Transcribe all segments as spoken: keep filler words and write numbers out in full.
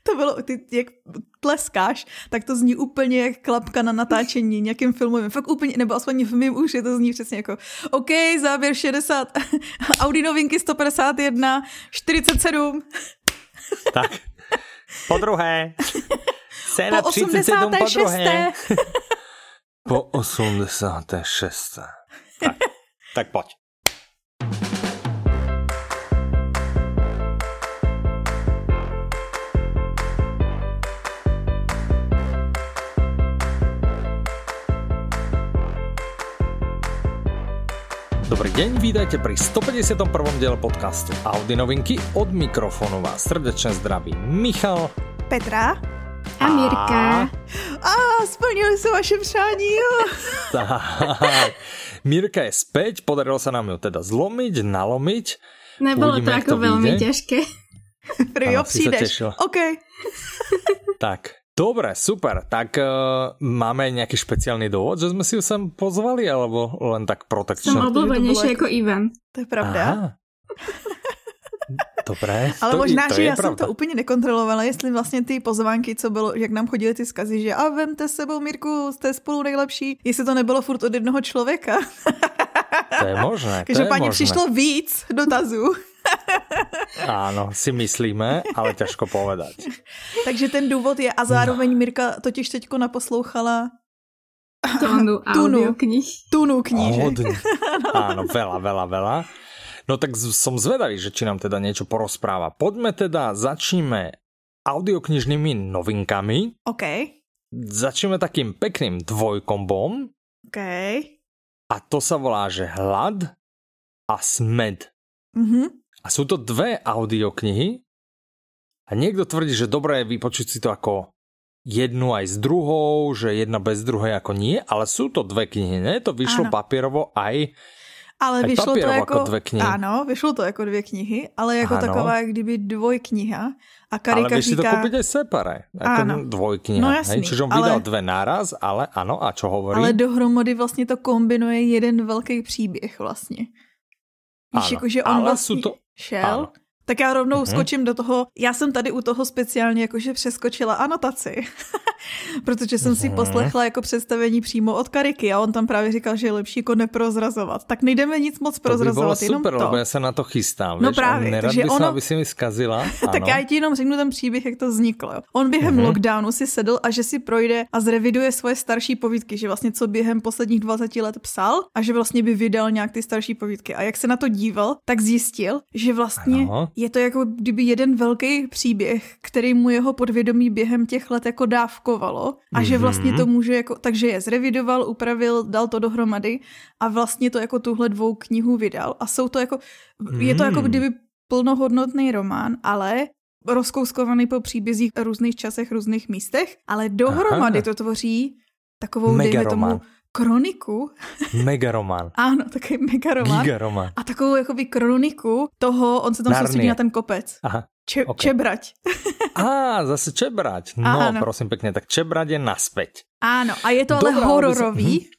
To bylo, ty jak tleskáš, tak to zní úplně jak klapka na natáčení nějakým filmovým. Fakt úplně, nebo aspoň v mým uši to zní přesně jako OK, záběr šedesát, Audi novinky sto padesát jedna, čtyřicet sedm. Tak, po druhé. Scéna třicet sedm po druhé. Po osmdesáté šesté. Tak, tak poď. Dobrý deň, vítajte pri stopäťdesiatom prvom diele podcastu Audi novinky. Od mikrofónu vás srdečne zdraví Michal, Petra a Mirka. A splnili sa vaše přání. Tak, Mirka je späť, podarilo sa nám ju teda zlomiť, nalomiť. Nebolo to ako veľmi ťažké. Prý, jo, přijdeš. OK. Tak. Dobre, super. Tak uh, máme nejaký špeciálny dôvod, že sme si ju sem pozvali, alebo len tak protekčne? Som obľúbenejšie ako Ivan. To je pravda. Aha. Dobré. Ale to, možná, to že je já pravda. jsem to úplně nekontrolovala, jestli vlastně ty pozvánky, co bylo, jak nám chodily ty vzkazy, že a vemte s sebou Mirku, jste spolu nejlepší, jestli to nebylo furt od jednoho člověka. To je možné. Takže to paní možné. přišlo víc dotazů. Áno, si myslíme, ale ťažko povedať. Takže ten důvod je, a zároveň Mirka totiž teďko naposlouchala Tónu audioknih. Tunu knížek. Hodne. Áno, veľa, veľa, veľa. No tak som zvedavý, že či nám teda niečo porozpráva. Poďme teda, začneme audioknižnými novinkami. OK. Začneme takým pekným dvojkombom. OK. A to sa volá, že Hlad a smed. Mhm. A sú to dve audioknihy a niekto tvrdí, že dobré je vypočuť si to ako jednu aj s druhou, že jedna bez druhej ako nie, ale sú to dve knihy, ne? To vyšlo Áno. papierovo aj, Ale aj vyšlo to papierovo jako, ako dve knihy. Ano, vyšlo to jako dvě knihy, ale jako Ano. taková, jak kdyby dvojkniha. A Karika ale vieš si to říká... kúpiť aj separé, ako Áno. dvojkniha. No jasný, hej? Čiže on ale- vydal dve naraz, ale ano, a čo hovorí? Ale dohromady vlastně to kombinuje jeden velký příběh vlastně. Víš, Ano, jako, že on ale vlastně sú to- šel... Áno. Tak já rovnou Mhm. skočím do toho, já jsem tady u toho speciálně jakože přeskočila anotaci, protože jsem si Mhm. poslechla jako představení přímo od Kariky a on tam právě říkal, že je lepší jako neprozrazovat. Tak nejdeme nic moc To by bolo prozrazovat, jenom super, to. lebo ja sa na to chystám. No vieš? právě, A nerad takže by som, ono- aby si mi skazila. Tak Áno. já ti jenom řeknu ten příběh, jak to vzniklo. On během Mhm. lockdownu si sedl a že si projde a zreviduje svoje starší povídky, že vlastně co během posledních dvaceti let psal a že vlastně by vydal nějak ty starší povídky. A jak se na to díval, tak zjistil, že vlastně Ano. je to jako kdyby jeden velký příběh, který mu jeho podvědomí během těch let jako dávkovalo a že vlastně to může jako, takže je zrevidoval, upravil, dal to dohromady a vlastně to jako tuhle dvou knihu vydal a jsou to jako, je to jako kdyby plnohodnotný román, ale rozkouskovaný po příbězích v různých časech, různých místech, ale dohromady Aha. to tvoří takovou, dejme tomu, Megaromán. kroniku. Megaromán. Ano, takový megaromán. Gigaromán. A takovou jakoby kroniku toho, on se tam Narnie. soustředí na ten kopec. Aha. Če- Ok. Čebrať. Á, zase čebrať. No, Áno. prosím pekne, tak čebrať je naspäť. Ano, a je to ale Dobrá, hororový.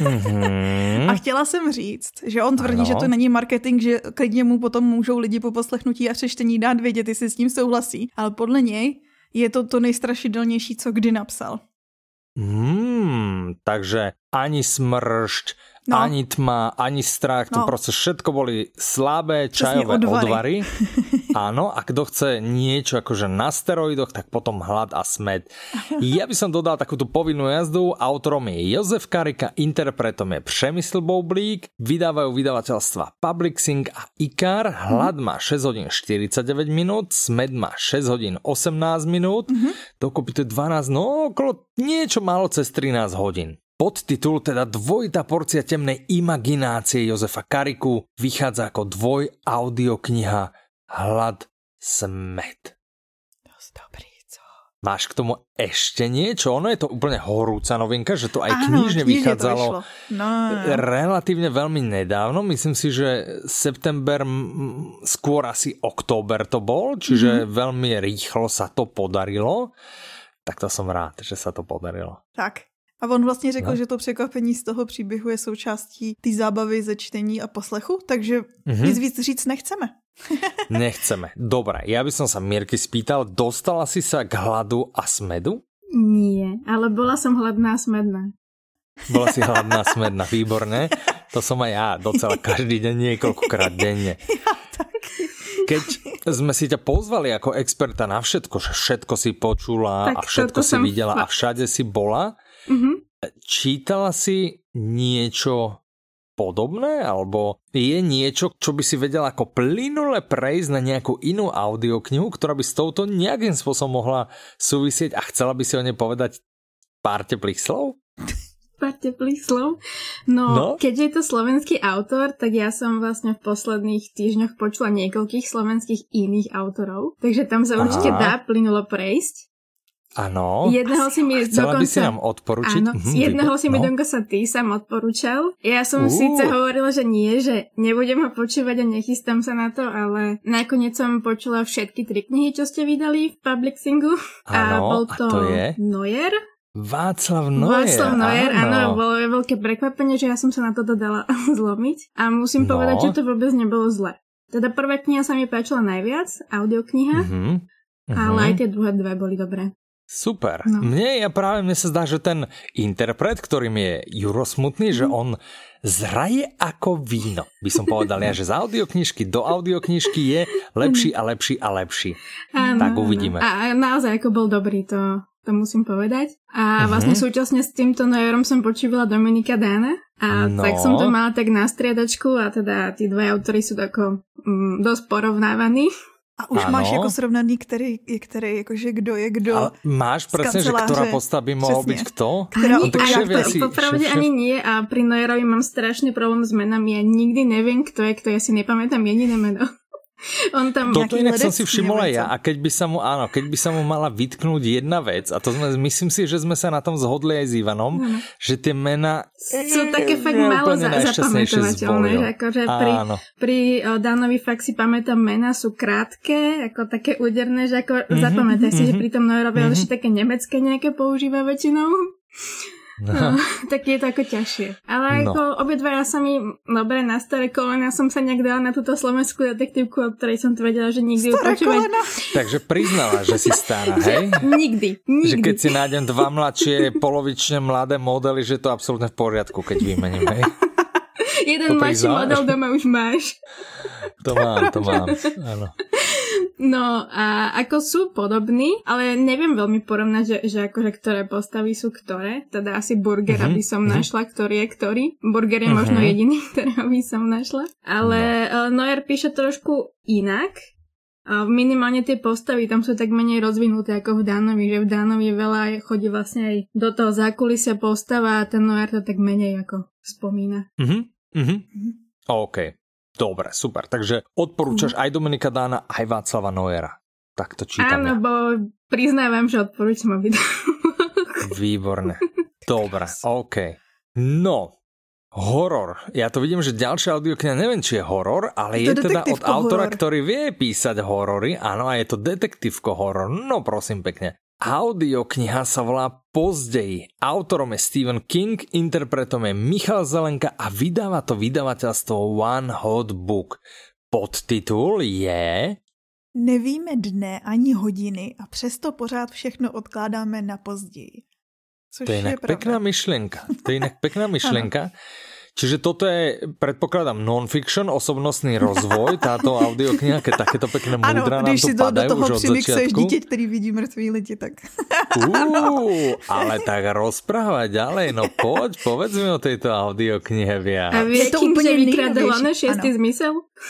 Mhm. A chtěla jsem říct, že on tvrdí, Ano. že to není marketing, že klidně mu potom můžou lidi po poslechnutí a přečtení dát vědět, jestli s tím souhlasí. Ale podle něj je to to nejstrašidelnější, co kdy napsal. Hmm, takže ani smršť, No. ani tma, ani strach, to No. proste všetko boli slabé Přesně, čajové odvary. odvary. Áno, a kto chce niečo akože na steroidoch, tak potom hlad a smed. Ja by som dodal takúto povinnú jazdu. Autorom je Jozef Karika, interpretom je Přemysl Boublík, vydávajú vydavateľstva Publixing a Ikar. Hlad má šesť hodín štyridsaťdeväť minút, smed má šesť hodín osemnásť minút, mm-hmm. dokopy to je dvanásť, no okolo niečo málo cez trinásť hodín. Podtitul, teda dvojitá porcia temnej imaginácie Jozefa Kariku, vychádza ako dvoj audiokniha Hlad, smed. Dosť dobrý, co? Máš k tomu ešte niečo? Ono je to úplne horúca novinka, že to aj Áno, knižne knižne to vychádzalo vyšlo. No, no, no. relatívne veľmi nedávno. Myslím si, že september, m, skôr asi október to bol, čiže mm-hmm. veľmi rýchlo sa to podarilo. Tak to som rád, že sa to podarilo. Tak. A on vlastně řekl, No. že to překvapení z toho příběhu je součástí té zábavy ze čtení a poslechu, takže Mhm. nic víc říct nechceme. Nechceme. Dobre, ja by som sa Mirky spýtal, dostala si sa k hladu a smedu? Nie, ale bola som hladná a smedná. Bola si hladná a smedná, výborné. To som aj ja docela každý deň, niekoľkokrát denne. Ja taky. Keď sme si ťa pozvali ako experta na všetko, že všetko si počula tak a všetko si videla fakt. A všade si bola, mm-hmm. čítala si niečo podobné? Alebo je niečo, čo by si vedela ako plynule prejsť na nejakú inú audioknihu, ktorá by s touto nejakým spôsobom mohla súvisieť a chcela by si o nej povedať pár teplých slov? Pár teplých slov. No, no, keďže je to slovenský autor, tak ja som vlastne v posledných týždňoch počula niekoľkých slovenských iných autorov, takže tam sa určite Aha. dá plynulo prejsť. Áno. Jedného si mi Chcela dokonca... by si nám odporučiť? Áno, mhm, jedného výbor, si mi no. dokonca ty sám odporúčal. Ja som uh. síce hovorila, že nie, že nebudem ho počúvať a nechystám sa na to, ale nakoniec som počula všetky tri knihy, čo ste vydali v Publixingu. Áno, a bol to, a to je? Neuer. Václav Neuer. Václav Neuer, áno. áno, bolo veľké prekvapenie, že ja som sa na toto dala zlomiť. A musím no. povedať, že to vôbec nebolo zle. Teda prvá kniha sa mi páčila najviac, audiokniha, mm-hmm. Mm-hmm. ale aj tie druhé dve boli dobré. Super. No. Mne ja práve mne sa zdá, že ten interpret, ktorým je Juro Smutný, mm. že on zraje ako víno. By som povedal ja, že z audioknižky do audioknižky je lepší a lepší a lepší. Áno, tak uvidíme. A naozaj ako bol dobrý, to, to musím povedať. A vlastne mm-hmm. súčasne s týmto Neuerom som počúvala Dominika Dána. A no. tak som to mala tak na striedačku a teda tí dva autory sú tako mm, dosť porovnávaní. A už ano. Máš jako srovnaný, který je který, jakože kdo je kdo. Ale máš presne, že ktorá postava by mohol byť kto? Ani, on tak šéf, ja si, popravde šéf, ani nie a pri Neuerovi mám strašný problém s menami. Ja nikdy neviem, kto je kto. Ja si nepamätám jediné meno. On tam Toto inak som si všimol aj ja a keď by sa mu, áno, keď by sa mu mala vytknúť jedna vec a to sme, myslím si, že sme sa na tom zhodli aj s Ivanom, no. že tie mená sú také fakt málo zapamätovateľné, akože pri, pri Dánovi fakt si pamätám mená, sú krátke, ako také úderné, že ako mm-hmm, zapamätaj si, mm-hmm, že pri tom Neuerovi mm-hmm. ešte také nemecké nejaké používa väčšinou. No. No, tak je to ako ťažšie. Ale no. ako obidvaja sa mi dobre na staré kolena som sa nejak dala na túto slovenskú detektívku, o ktorej som tvrdila, že nikdy ju počúvať. Takže priznala, že si stará, hej? Nikdy, nikdy. Že keď si nájdem dva mladšie, polovične mladé modely, že to je absolútne v poriadku, keď vymením, hej? Jeden mladší model doma už máš. To mám, to mám, áno. No a ako sú podobní, ale neviem veľmi porovnať, že, že akože ktoré postavy sú ktoré. Teda asi Burgera uh-huh. by som našla, ktorý je ktorý. Burger je uh-huh. možno jediný, ktorého by som našla. Ale no. Neuer píše trošku inak. Minimálne tie postavy tam sú tak menej rozvinuté ako v Dánovi, že v Dánovi veľa chodí vlastne aj do toho zákulisia postava a ten Neuer to tak menej ako spomína. Uh-huh. Uh-huh. Uh-huh. OK. Dobre, super. Takže odporúčaš aj Dominika Dána, aj Václava Neuera. Tak to čítam. Áno, ja. bo priznávam, že odporúčam obidva. Výborné. Dobre, OK. No, horor. Ja to vidím, že ďalšia audiokniha, neviem, či je horor, ale je, je teda od autora, horor. Ktorý vie písať horory. Áno, a je to detektívko horor. No, prosím pekne. Audiokniha sa volá Pozdeji. Autorom je Stephen King, interpretom je Michal Zelenka a vydáva to vydavateľstvo One Hot Book. Podtitul je... Nevíme dne ani hodiny a přesto pořád všechno odkládáme na později. Což to je inak je pekná myšlienka. To je inak pekná myšlienka. Čiže toto je, predpokladám, non-fiction, osobnostný rozvoj, táto audiokniha, keď takéto pekné múdra nám tu padajú už od začiatku. Ano, když si do toho přimixuješ dítě, který vidí mŕtvý lidi, tak... Uuu, ale tak rozprávať ďalej, no poď, povedz mi o tejto audioknihe viac. A vie, kým že vykradala na šiestý zmysel?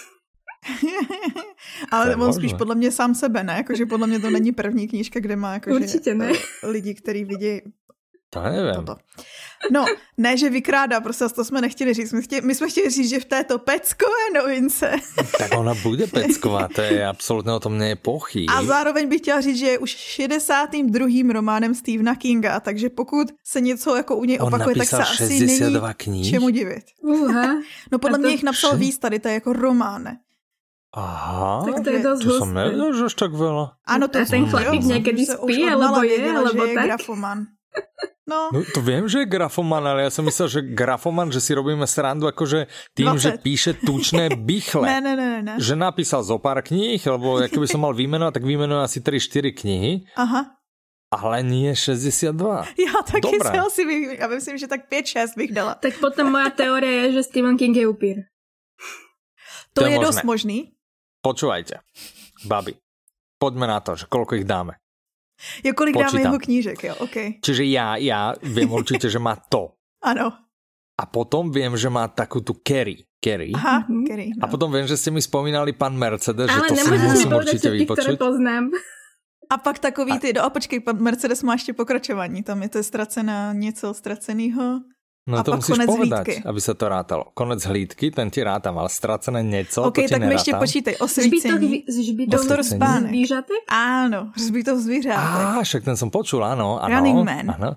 Ale on spíš podle mě sám sebe, ne? Jakože podle mě to není první knížka, kde má jakože určitě ne. lidi, který vidí... To nevím. Toto. No, ne, že vykrádá, prostě to jsme nechtěli říct. My, chtěli, my jsme chtěli říct, že v této peckové novince. Tak ona bude pecková, to je absolutně o tom nie je pochyb. A zároveň bych chtěla říct, že je už šedesátým druhým románem Stephena Kinga, takže pokud se něco jako u něj opakuje, tak se asi není kníž? čemu divit. Uh-huh. No podle mě jich napsal vš- víc tady, to je jako román. Aha, tak to je dosť to som nevedel, že až tak veľa. Áno, to a ten chlapík niekedy spí, alebo je, alebo tak? Že je grafoman. No. no to viem, že je grafoman, ale ja som myslel, že grafoman, že si robíme srandu akože tým, dvadsať. Že píše tučné bichle. Ne, ne, ne, ne. Že napísal zo pár kníh, lebo keby som mal vymenovať, tak vymenujem asi tri štyri knihy. Aha. Ale nie šesťdesiatdva. Ja taky si asi bych, ja myslím, že tak päť šesť bych dala. Tak potom moja teória je, že Stephen King je upír. To, to je, je dosť možný. Počúvajte, babi, poďme na to, že koľko ich dáme. Jo, kolik Počítam. Dáme jeho knížek, jo, ok. Čiže ja, ja viem určite, že má to. Áno. A potom viem, že má takú tú Carrie. Carrie. Aha, mm-hmm. Carrie. No. A potom viem, že ste mi spomínali pán Mercedes, ale že to si musím určite vypočuť. Ale poznám. A pak takový ty, a... a počkej, pan Mercedes má ešte pokračování, tam je to ztracená něco ztracenýho. No a to musíš povedať, hlídky. Aby sa to rátalo. Konec hlídky, ten ti rátam, ale stracené něco, okay, to ti tak nerátam. mi ešte počítaj, osvícení. Doktor Spánek. Zvířatek? Áno, hřbitov zvířátek. Á, však ten som počul, áno. áno Running Man. Áno,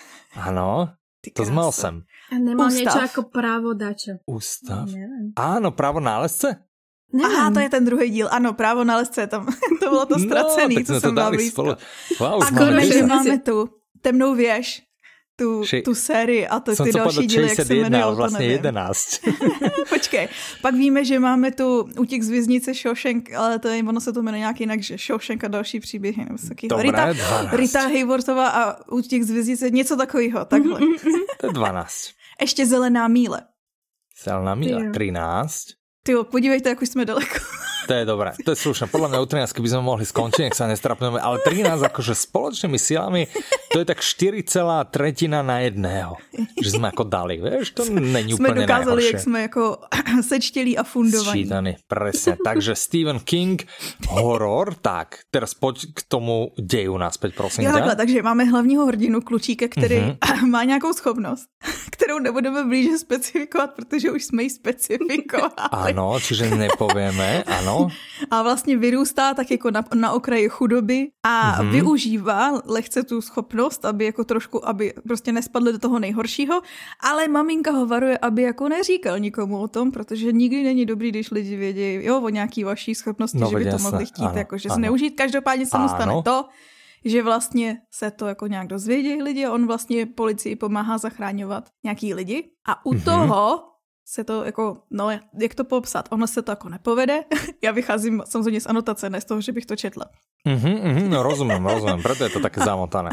áno. To zmal sem. A nemal Ústav. Niečo ako právo dača. Ústav? Neviem. Áno, právo nálezce? Neviem. Aha, to je ten druhý díl. Ano, právo nálezce, tam to bylo to ztracený, no, co jsem dal blízko. Wow, a konečně máme tu temnou věž. Tu, Ši... tu sérii a to, ty další díly, jak se jmenují, to vlastně nevím. jedenáct. Počkej, pak víme, že máme tu Útěk z věznice Shawshank, ale to je, ono se to jmenuje nějak jinak, že Shawshank a další příběhy. Dobré, Rita, dvanáct. Rita Hayworthová a Útěk z věznice, něco takového, takhle. To je dvanáct. Ještě Zelená míle. Zelená míle, třináct. Tyjo, podívejte, jak už jsme daleko. To je dobré, to je slušné. Podľa mňa u trinásť by sme mohli skončiť, nech sa nestrapneme, ale trinásť akože spoločnými silami, to je tak štyri celá tri na jedného. Že sme ako dali, vieš, to není úplne najhoršie. Sme dokázali, jak sme ako sečtelí a fundovaní. Sčítaní, presne. Takže Stephen King, horor, tak, teraz poď k tomu deju naspäť, prosím ťa. Takhle, takže máme hlavního hrdinu, klučíka, který uh-huh. má nějakou schopnost, kterou nebudeme blíže specifikovat, protože už jsme ji specifikovali. Áno, čiže nepovieme, áno. A vlastně vyrůstá tak jako na, na okraji chudoby a mm-hmm. využívá lehce tu schopnost, aby jako trošku, aby prostě nespadli do toho nejhoršího, ale maminka ho varuje, aby jako neříkal nikomu o tom, protože nikdy není dobrý, když lidi vědí, jo, o nějaký vaší schopnosti, no, že by to mohli chtít ano, jakože ano. zneužít. Každopádně se mu stane to, že vlastně se to jako nějak dozvědějí lidi a on vlastně policii pomáhá zachráňovat nějaký lidi a u mm-hmm. toho se to jako, no jak to popsat, ono se to jako nepovede. Já vycházím samozřejmě z anotace, ne z toho, že bych to četla. Mm-hmm, mm-hmm, no rozumím, rozumím, proto je to také zamotané.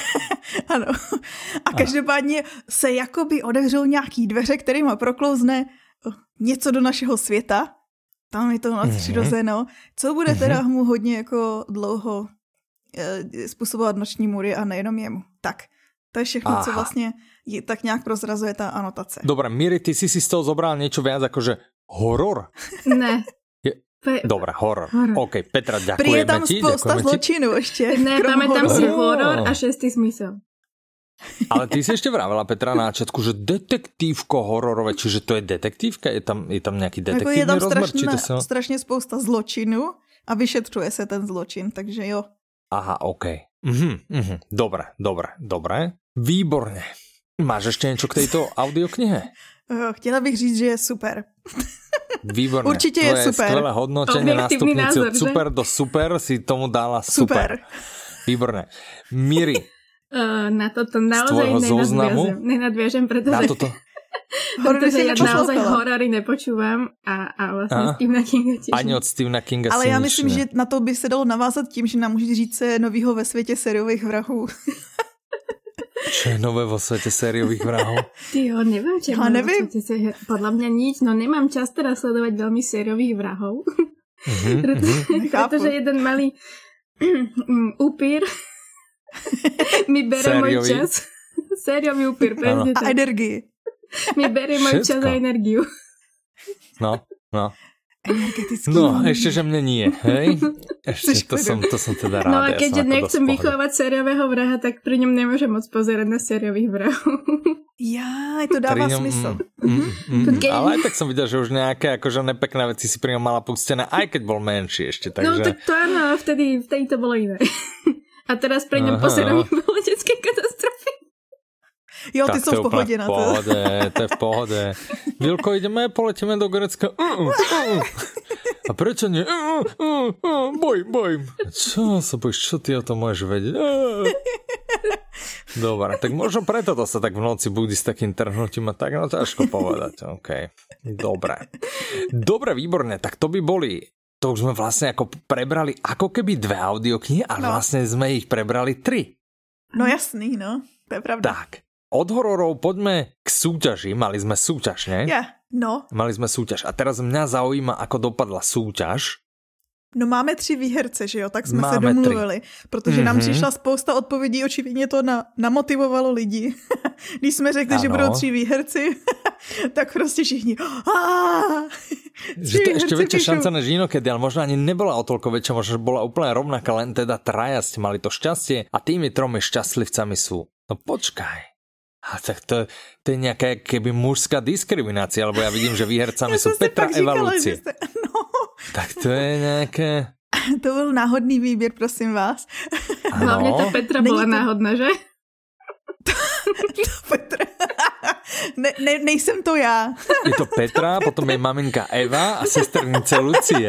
Ano. A každopádně se jakoby odehřou nějaký dveře, kterýma proklouzne něco do našeho světa. Tam je to nadpřirozeno. Co bude teda mu hodně jako dlouho e, způsobovat noční můry a nejenom jemu. Tak, to je všechno, Aha. co vlastně je, tak nějak prozrazuje ta anotace. Dobre, Miri, ty si si z toho zobral niečo viac akože horor? Ne. Je... Pe... Dobre, horor. horor. OK, Petra, ďakujeme ti. Prý je tam spousta zločinu ešte. Ne, pamätám si horor a šestý smysel. Ale ty si ešte vravela, Petra, na začiatku, že detektívko hororové, čiže to je detektívka? Je tam, je tam nejaký detektívny jako rozmer? Je tam sa... strašne spousta zločinu a vyšetřuje se ten zločin, takže jo. Aha, OK. Mhm, mhm. Dobre, dobre, dobre. Výborne. Máš ešte niečo k tejto audioknihe? Chtěla bych říct, že je super. Výborné. Určite je super. Skvelé hodnotenie na stupnici od super do super si tomu dala super. super. Výborné. Miri. Uh, na toto naozaj nenadviažem, nenadviažem, pretože... Na toto? pretože ja naozaj horory nepočúvam a, a vlastne Aha. Stephena Kinga tiež. Ani od Stephena Kinga. Ale já myslím, ne. že na to by se dalo navázat tím, že nám můžeš říct se novýho ve světě sériových vrahů. Čo je nové vo svete sériových vrahov? Tyjo, neviem, čo je nové vo svete sériových. Podľa mňa nič, no nemám čas teraz sledovať veľmi sériových vrahov. Mm-hmm, pretože, mm-hmm. pretože jeden malý upír mi bere Sériový. môj čas. Sériový upír, presne to. A energii. Mi bere môj čas a energiu. No, no. Energetický. No, ešte, že mne nie, hej? Ešte, to som, to som teda rád. No a keďže ja nechcem vychovať sériového vraha, tak pri ňom nemôžem moc pozerať na sériových vrahov. Ja, to dáva ňom, smysl. Mm, mm, mm, Keď... Ale aj tak som videl, že už nejaké akože nepekné veci si pri ňom mala pustené, aj keď bol menší ešte. Takže... No tak to áno, vtedy, vtedy to bolo iné. A teraz pri ňom pozerám letecké katastrofy. Jo, ty tak sú v pohode na to. Pohode, to je v pohode. Vilko, ideme, poletíme do Grécka. Uh, uh, uh. A prečo nie? Uh, uh, uh, boj, boj. Čo sa bojíš? Čo ty o tom môžeš vedieť? Uh. Dobre, tak možno preto to sa tak v noci budí s takým trhnutím a tak, no ťažko povedať. OK, dobre. Dobre, výborné, tak to by boli, to už sme vlastne ako prebrali ako keby dve audioknihy, ale no. vlastne sme ich prebrali tri. No jasný, no, to je pravda. Tak, od hororov poďme k súťaži, mali sme súťaž, ne? Ja, no. Mali sme súťaž a teraz mňa zaujíma, ako dopadla súťaž. No máme tři výherce, že jo, tak jsme máme se domluvili, tři. protože mm-hmm. nám přišla spousta odpovědí, očividně to na, namotivovalo lidi. Když jsme řekli, ano. že budou tři výherci, tak prostě všichni že to ešte väčšia šanca než inokedy, ale možno ani nebola o toľko väčšia, možno bola úplne rovnaká, len teda traja ste mali to šťastie a tými tromi šťastlivcami sú. No počkaj. A tak to, to je nejaká keby mužská diskriminácia, lebo ja vidím, že výhercami sú Petra Eva Lucie. Ste... No. Tak to je nejaké... To byl náhodný výběr, prosím vás. Ano. Hlavně ta Petra byla to... náhodná, že? Petra. Ne, ne, nejsem to já. Je to Petra, potom je maminka Eva a sesternice Lucie.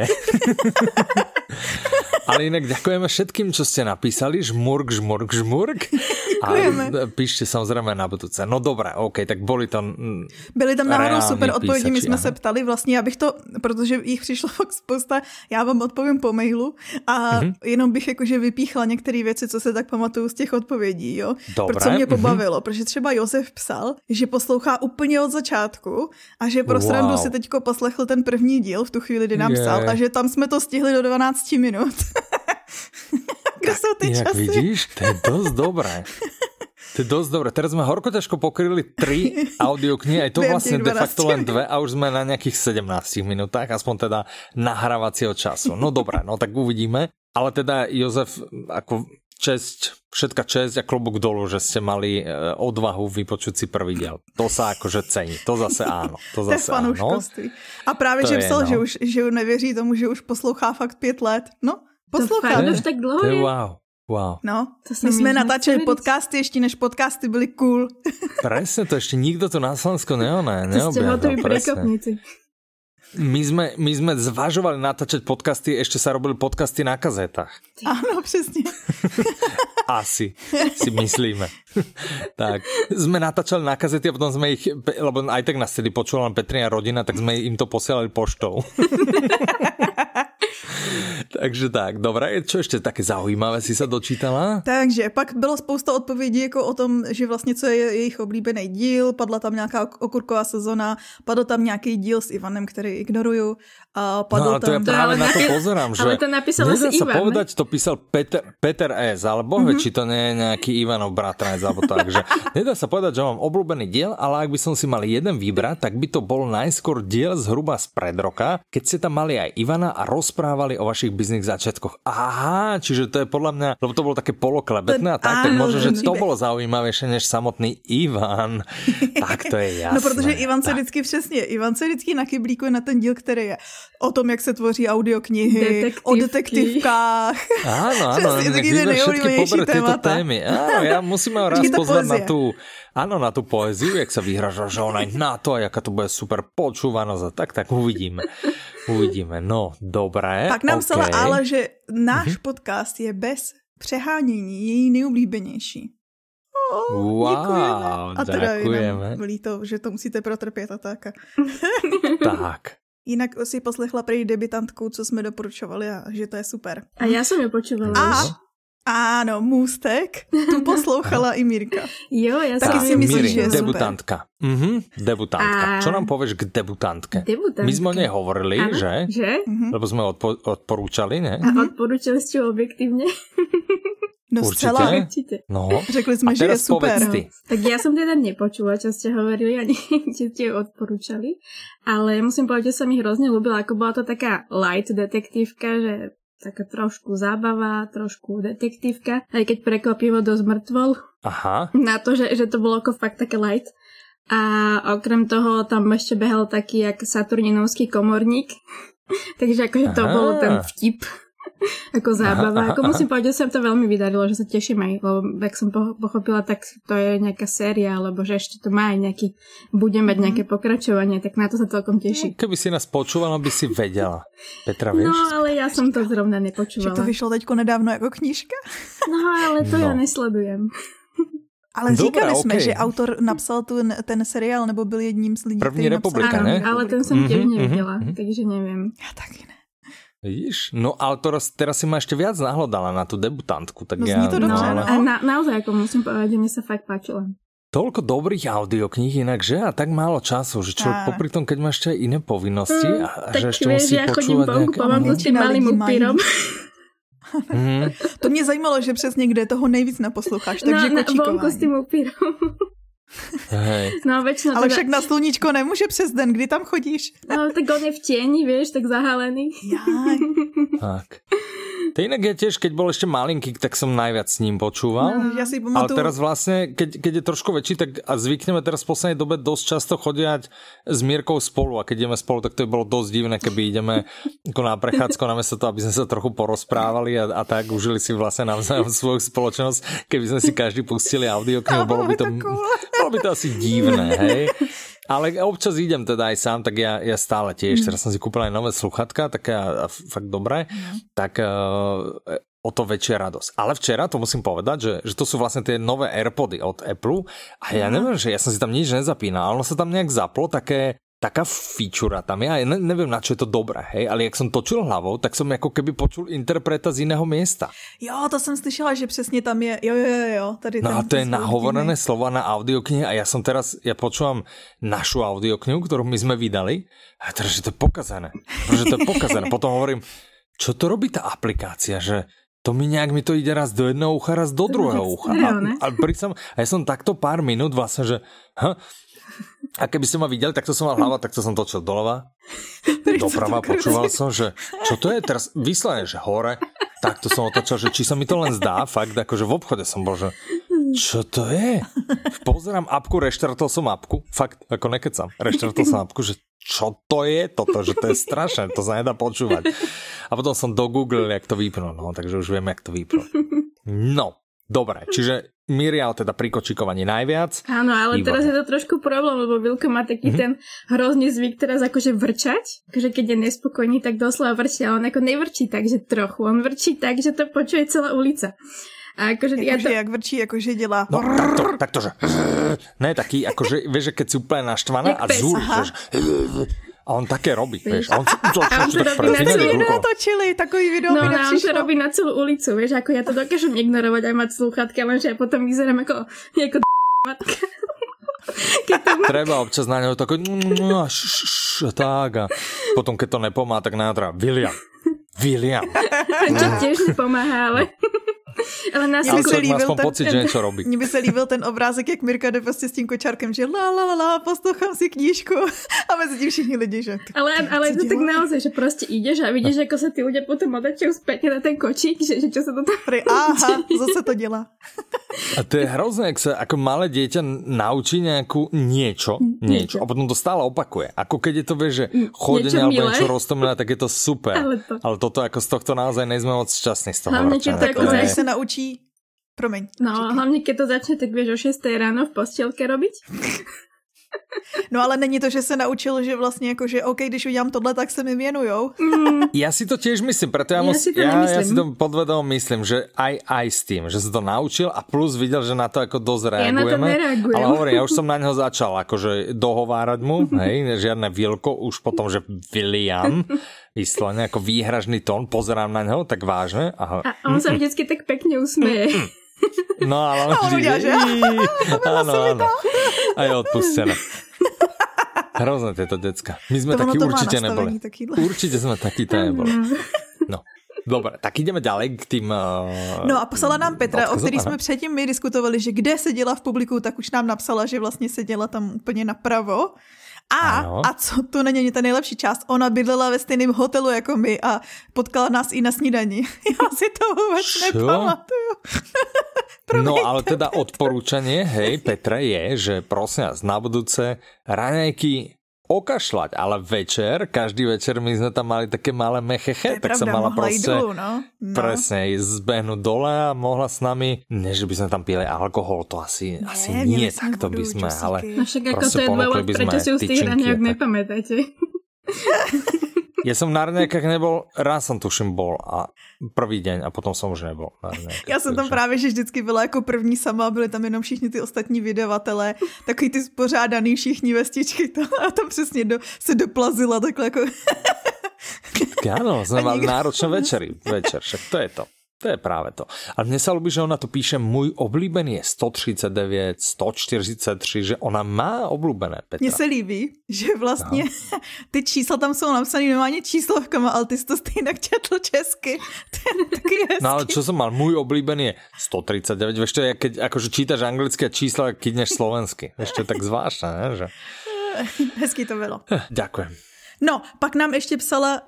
Ale inak ďakujeme všetkým, čo ste napísali. Žmurk, žmurk, žmurk. A píšte samozrejme na budúce. No dobré, ok, tak boli to Byly tam náhodou super odpovědi, my jsme aha. se ptali vlastně, já bych to, protože jich přišlo fakt spousta, já vám odpovím po mailu a mm-hmm. jenom bych jakože vypíchla některé věci, co se tak pamatuju z těch odpovědí, jo. Dobré. Proč mě pobavilo, mm-hmm. protože třeba Josef psal, že poslouchá úplně od začátku a že pro wow. srandu si teďko poslechl ten první díl v tu chvíli, kdy nám yeah. psal a že tam jsme to stihli do dvanáct minut. Kde sú tie časy? Vidíš, to je dosť dobré. To je dosť dobré. Teraz sme horko ťažko pokryli tri audioknihy, aj to vlastne de facto len dve a už sme na nejakých sedemnástich minútach, aspoň teda nahrávacieho času. No dobré, no tak uvidíme. Ale teda Jozef, ako česť, všetka česť a klobúk dolu, že ste mali odvahu vypočuť si prvý diel. To sa akože cení. To zase áno. To zase áno. A práve, to že psal, no. že už že nevěří tomu, že už poslouchá fakt pět let. No, poslouchá. To už tak dlouho je. Wow. Wow. No, to my sme natáčali podcasty ešte, než podcasty byli cool. Presne, to ešte nikto tu na Slovensku neoné, neobjavil. To ste hotoví prekopníci. My sme, my sme zvažovali natáčať podcasty, ešte sa robili podcasty na kazetách. Áno, presne. Asi, si myslíme. Tak, sme natáčali na kazety a potom sme ich, lebo aj tak nás tedy počula len Petrina rodina, tak sme im to posielali poštou. Takže tak, dobré, čo ešte také zaujímavé si sa dočítala? Takže pak bylo spousta odpovědí jako o tom, že vlastně co je jejich oblíbený díl, padla tam nějaká okurková sezona, padl tam nějaký díl s Ivanem, který ignoruju. A padl no ale to tam... ja práve na to pozerám, že ale to napísal asi Ivan, sa povedať, ne? To písal Peter, Peter S, ale bohve, mm-hmm. či to nie je nejaký Ivanov bratranec, alebo tak, že nedá sa povedať, že mám obľúbený diel, ale ak by som si mal jeden vybrať, tak by to bol najskôr diel zhruba z pred roka, keď ste tam mali aj Ivana a rozprávali o vašich biznis začiatkoch. Aha, čiže to je podľa mňa, lebo to bolo také poloklebetné a tak, tak možno, že to bolo zaujímavejšie než samotný Ivan. Tak to je jasné. No, protože Ivan se vždycky přesně, Ivan se vždycky nakyblíkuje na ten díl, který je o tom, jak se tvoří audioknihy, Detektivky. O detektivkách. Áno, áno, nech vyber všetky pober tieto témy. Áno, ja musíme raz pozvať na tú, áno, na tú poéziu, jak sa vyhraža, že ona je na to a jaká to bude super počúvanosť a tak, tak uvidíme. Uvidíme, no, dobré. Pak nám okay. psala ale, že náš podcast je bez přehánění její nejoblíbenější. Oh, wow, děkujeme. A teda děkujeme. Jenom líto, že to musíte protrpět a tak. Tak. Jinak si poslechla prej debutantku, co jsme doporučovali a že to je super. A já jsem je počúvala. A áno, Můstek, tu poslouchala i Mírka. Jo, ja Taky som... si myslíš, Míri, že je debutantka. super. Mhm, debutantka. A... Čo nám povieš k debutantke? Debutantka. My sme o nej hovorili, ano, že? Že? Mhm. Lebo sme odpo- odporúčali, ne? A odporúčali ste ju objektívne? No zcela. Určite. No. Řekli sme, že je super. No. Tak ja som teda nepočula, čo ste hovorili, ani čo ste ju odporúčali, ale musím povedať, že sa mi hrozne ľúbila, ako bola to taká light detektívka, že taká trošku zábava, trošku detektívka, aj keď prekvapivo dosť mŕtvol. Aha. Na to, že, že to bolo ako fakt také light. A okrem toho tam ešte behal taký jak Saturninovský komorník. Takže akože to bol ten vtip. Ako zábava. Aha, ako aha, musím povedať, že sa to veľmi vydarilo, že sa teším aj, lebo ak som pochopila, tak to je nejaká séria, alebo že ešte to má aj nejaký, bude mať nejaké pokračovanie, tak na to sa celkom teším. Keby si nás počúvala, by si vedela. Petra, vieš? No, ale ja som to zrovna nepočúvala. Že to vyšlo teďko nedávno ako knižka? No, ale to no. ja nesledujem. Ale Dobre, říkali jsme, okay. že autor napsal tu, ten seriál, nebo byl jedním z lidí, První republika, ne? ne? Ale ten jsem mm-hmm, tiež nevidela, mm-hmm. takže neviem. Já taky ne. Vidíš? No ale teraz, teraz si ma ešte viac nahlodala na tú debutantku. Tak no ja, zní to dobře, no. no. A na, naozaj, ako musím povedať, že mi sa fakt páčila. Toľko dobrých audiokníh inakže a tak málo času, že človek Á. popri tom, keď má ešte aj iné povinnosti a, a tak že ešte vieš, musí ja chodím počúvať vonku, nejaké... povám s tým malým upírom. Mm. To mě zajímalo, že přesně kde toho nejvíc naposloucháš, takže no, kočíkování. vonku s tým upírom. Hej. No, väčšinou Ale teda... však na sluníčko nemůže přes den, kdy tam chodíš? No, tak on je v tieni, vieš, tak zahalený. Jaj. Tak. To inak ja tiež, keď bol ešte malinký, tak som najviac s ním počúval. No, ja si Ale pamatuju... teraz vlastne, keď, keď je trošku väčší, tak a zvykneme teraz v poslednej dobe dosť často chodiať s Mírkou spolu a keď ideme spolu, tak to by bolo dosť divné, keby ideme ako na prechádzku namiesto toho, aby sme sa trochu porozprávali a, a tak užili si vlastne navzájom svoju spoločnosť, keby sme si každý pustili audioknihu, bolo by to, bolo by to asi divné, hej. Ale občas idem teda aj sám, tak ja, ja stále tiež, teraz som si kúpil aj nové sluchatka, také a, a fakt dobré, mm. tak uh, o to väčšia radosť. Ale včera, to musím povedať, že, že to sú vlastne tie nové AirPody od Apple a ja neviem, že ja som si tam nič nezapínal, ale ono sa tam nejak zaplo, také taká feature tam je, ja ne, neviem, na čo je to dobré, hej, ale jak som točil hlavou, tak som ako keby počul interpreta z iného miesta. Jo, to jsem slyšela, že přesně tam je, jo, jo, jo, jo tady no ten, a to je nahovorené slova na audioknihe a ja som teraz, ja počúvam našu audioknihu, ktorú my sme vydali a teraz, že to je pokazané, že to je pokazané, potom hovorím, čo to robí tá aplikácia, že to mi nejak mi to ide raz do jedného ucha, raz do druhého ucha. A, a, prísam, a ja som takto pár minút vlastne, že ha, a keby ste ma videli, tak to som mal hlava, tak to som točil doľava, doprava, počúval som, že čo to je teraz, vyslovene, že hore, tak to som otočil, že či sa mi to len zdá, fakt, akože v obchode som bol, že čo to je? Pozerám apku, reštartol som apku, fakt, ako nekecam, reštartol som apku, že čo to je toto, že to je strašné, to sa nedá počúvať. A potom som do Google, jak to vypnul, no, takže už viem, jak to vypnul. No, dobre, čiže Mirial teda pri kočikovaní najviac. Áno, ale Výborné. teraz je to trošku problém, lebo Vilko má taký mm-hmm. ten hrozný zvyk teraz akože vrčať, akože keď je nespokojný, tak doslova vrčí, ale on ako nevrčí tak, že trochu, on vrčí tak, že to počuje celá ulica. A akože jako, ja to... jak vrčí, akože dělá... No takto, takto, že... Ne, taký, akože, vieš, že keď si úplne naštvaná a zúr, že... A on také robí, vieš. A on si to tak robí na celú natočili, takový video no, mi nepřišlo. No, on to robí na celú ulicu, vieš, ako ja to dokážem ignorovať aj mať slúchatka, lenže ja potom vyzerám ako, ako matka. Tam... Treba občas na neho tako... Tak a potom, keď to nepomá, tak na neho William. William. Čo tiež nepomáha, ale... Ale na ale se má aspoň ten, pocit, že niečo robí. Mně by se líbil ten obrázek, jak Mirka jde prostě s tím kočárkem, že la la la, poslouchám si knížku a mezi tím všichni lidi, že... Ale, ale je to tak naozaj, že proste ideš a vidíš, ako sa tí ľudia potom odačujú späť na ten kočík, že, že čo sa to tam... Aha, zase to dělá. A to je hrozné, ak sa ako malé dieťa naučí nejakú niečo, niečo, a potom to stále opakuje. Ako keď je to, vieš, že chodenie alebo niečo roztomilé, tak je to super. Ale, to... ale toto ako z tohto naozaj nejsme moc šťastní z toho. Hlavne, keď to ako je... se naučí... Promiň. No, čekaj. Hlavne keď to začne, tak vieš o šiestej ráno v postielke robiť. No ale není to, že se naučil, že vlastně jako, že OK, když udělám tohle, tak se mi věnujou. Mm. Ja si to tiež myslím, preto ja, ja, mus, si, to ja, ja si to myslím. podvedom myslím, že aj, aj s tým, že sa to naučil a plus videl, že na to ako dosť reagujeme. Ja na to nereagujem. Ale hovorím, ja už som na neho začal akože dohovárať mu, hej, žiadne Vilko, už potom, že William, vyslovene ako výhražný tón, pozerám na neho, tak vážne. Aha. A on sa vždycky tak pekne usmeje. No ale on vždy... Áno, áno. A je odpustené. Hrozné tieto decka. My sme takí určite neboli. Takýhle. Určite sme takíto neboli. No, dobre, tak ideme ďalej k tým... Uh, no a poslala nám Petra, odkazom, o který aha. jsme předtím my diskutovali, že kde seděla v publiku, tak už nám napsala, že vlastně seděla tam úplně napravo. A, a co to není ta nejlepší část, ona bydlela ve stejném hotelu jako my a potkala nás i na snídani. Já si to vůbec Čo? nepamatuju. No ale teda odporúčanie, hej, Petra, je, že prosím vás, na budúce raňajky okašľať, ale večer, každý večer my sme tam mali také malé mecheche, tak sa mala proste dolu, no? No. presne zbehnúť dole a mohla s nami, nie že by sme tam pili alkohol, to asi nie, asi nie takto by sme, ale no však ako to je dôvod, prečo si už z tých raňajok nepamätáte. Ja som na raňajkách nebol, raz som tuším bol a prvý deň a potom som už nebol na raňajkách. Já jsem tam právě, že vždycky byla jako první sama, byly tam jenom všichni ty ostatní vydavatelé, takový ty spořádaný všichni vestičky to, a tam přesně do, se doplazila takhle jako... Tak áno, sme mali náročné večery, večer, však to je to. To je práve to. Ale mne sa ľúbi, že ona tu píše, môj obľúbený je sto tridsaťdeväť, sto štyridsaťtri, že ona má obľúbené, Petra. Mně se líbí, že vlastně no. ty čísla tam jsou napsané normálně číslovkama, ale ty jsi to stejně četl česky. To je taky hezký. No ale čo som mal, môj obľúbený je sto tridsaťdeväť, vieš to je, keď akože čítaš anglické čísla, kýdneš slovensky. Vieš to je tak zvláštne, ne? Že... Hezký to bylo. Ďakujem. No, pak nám ještě psala,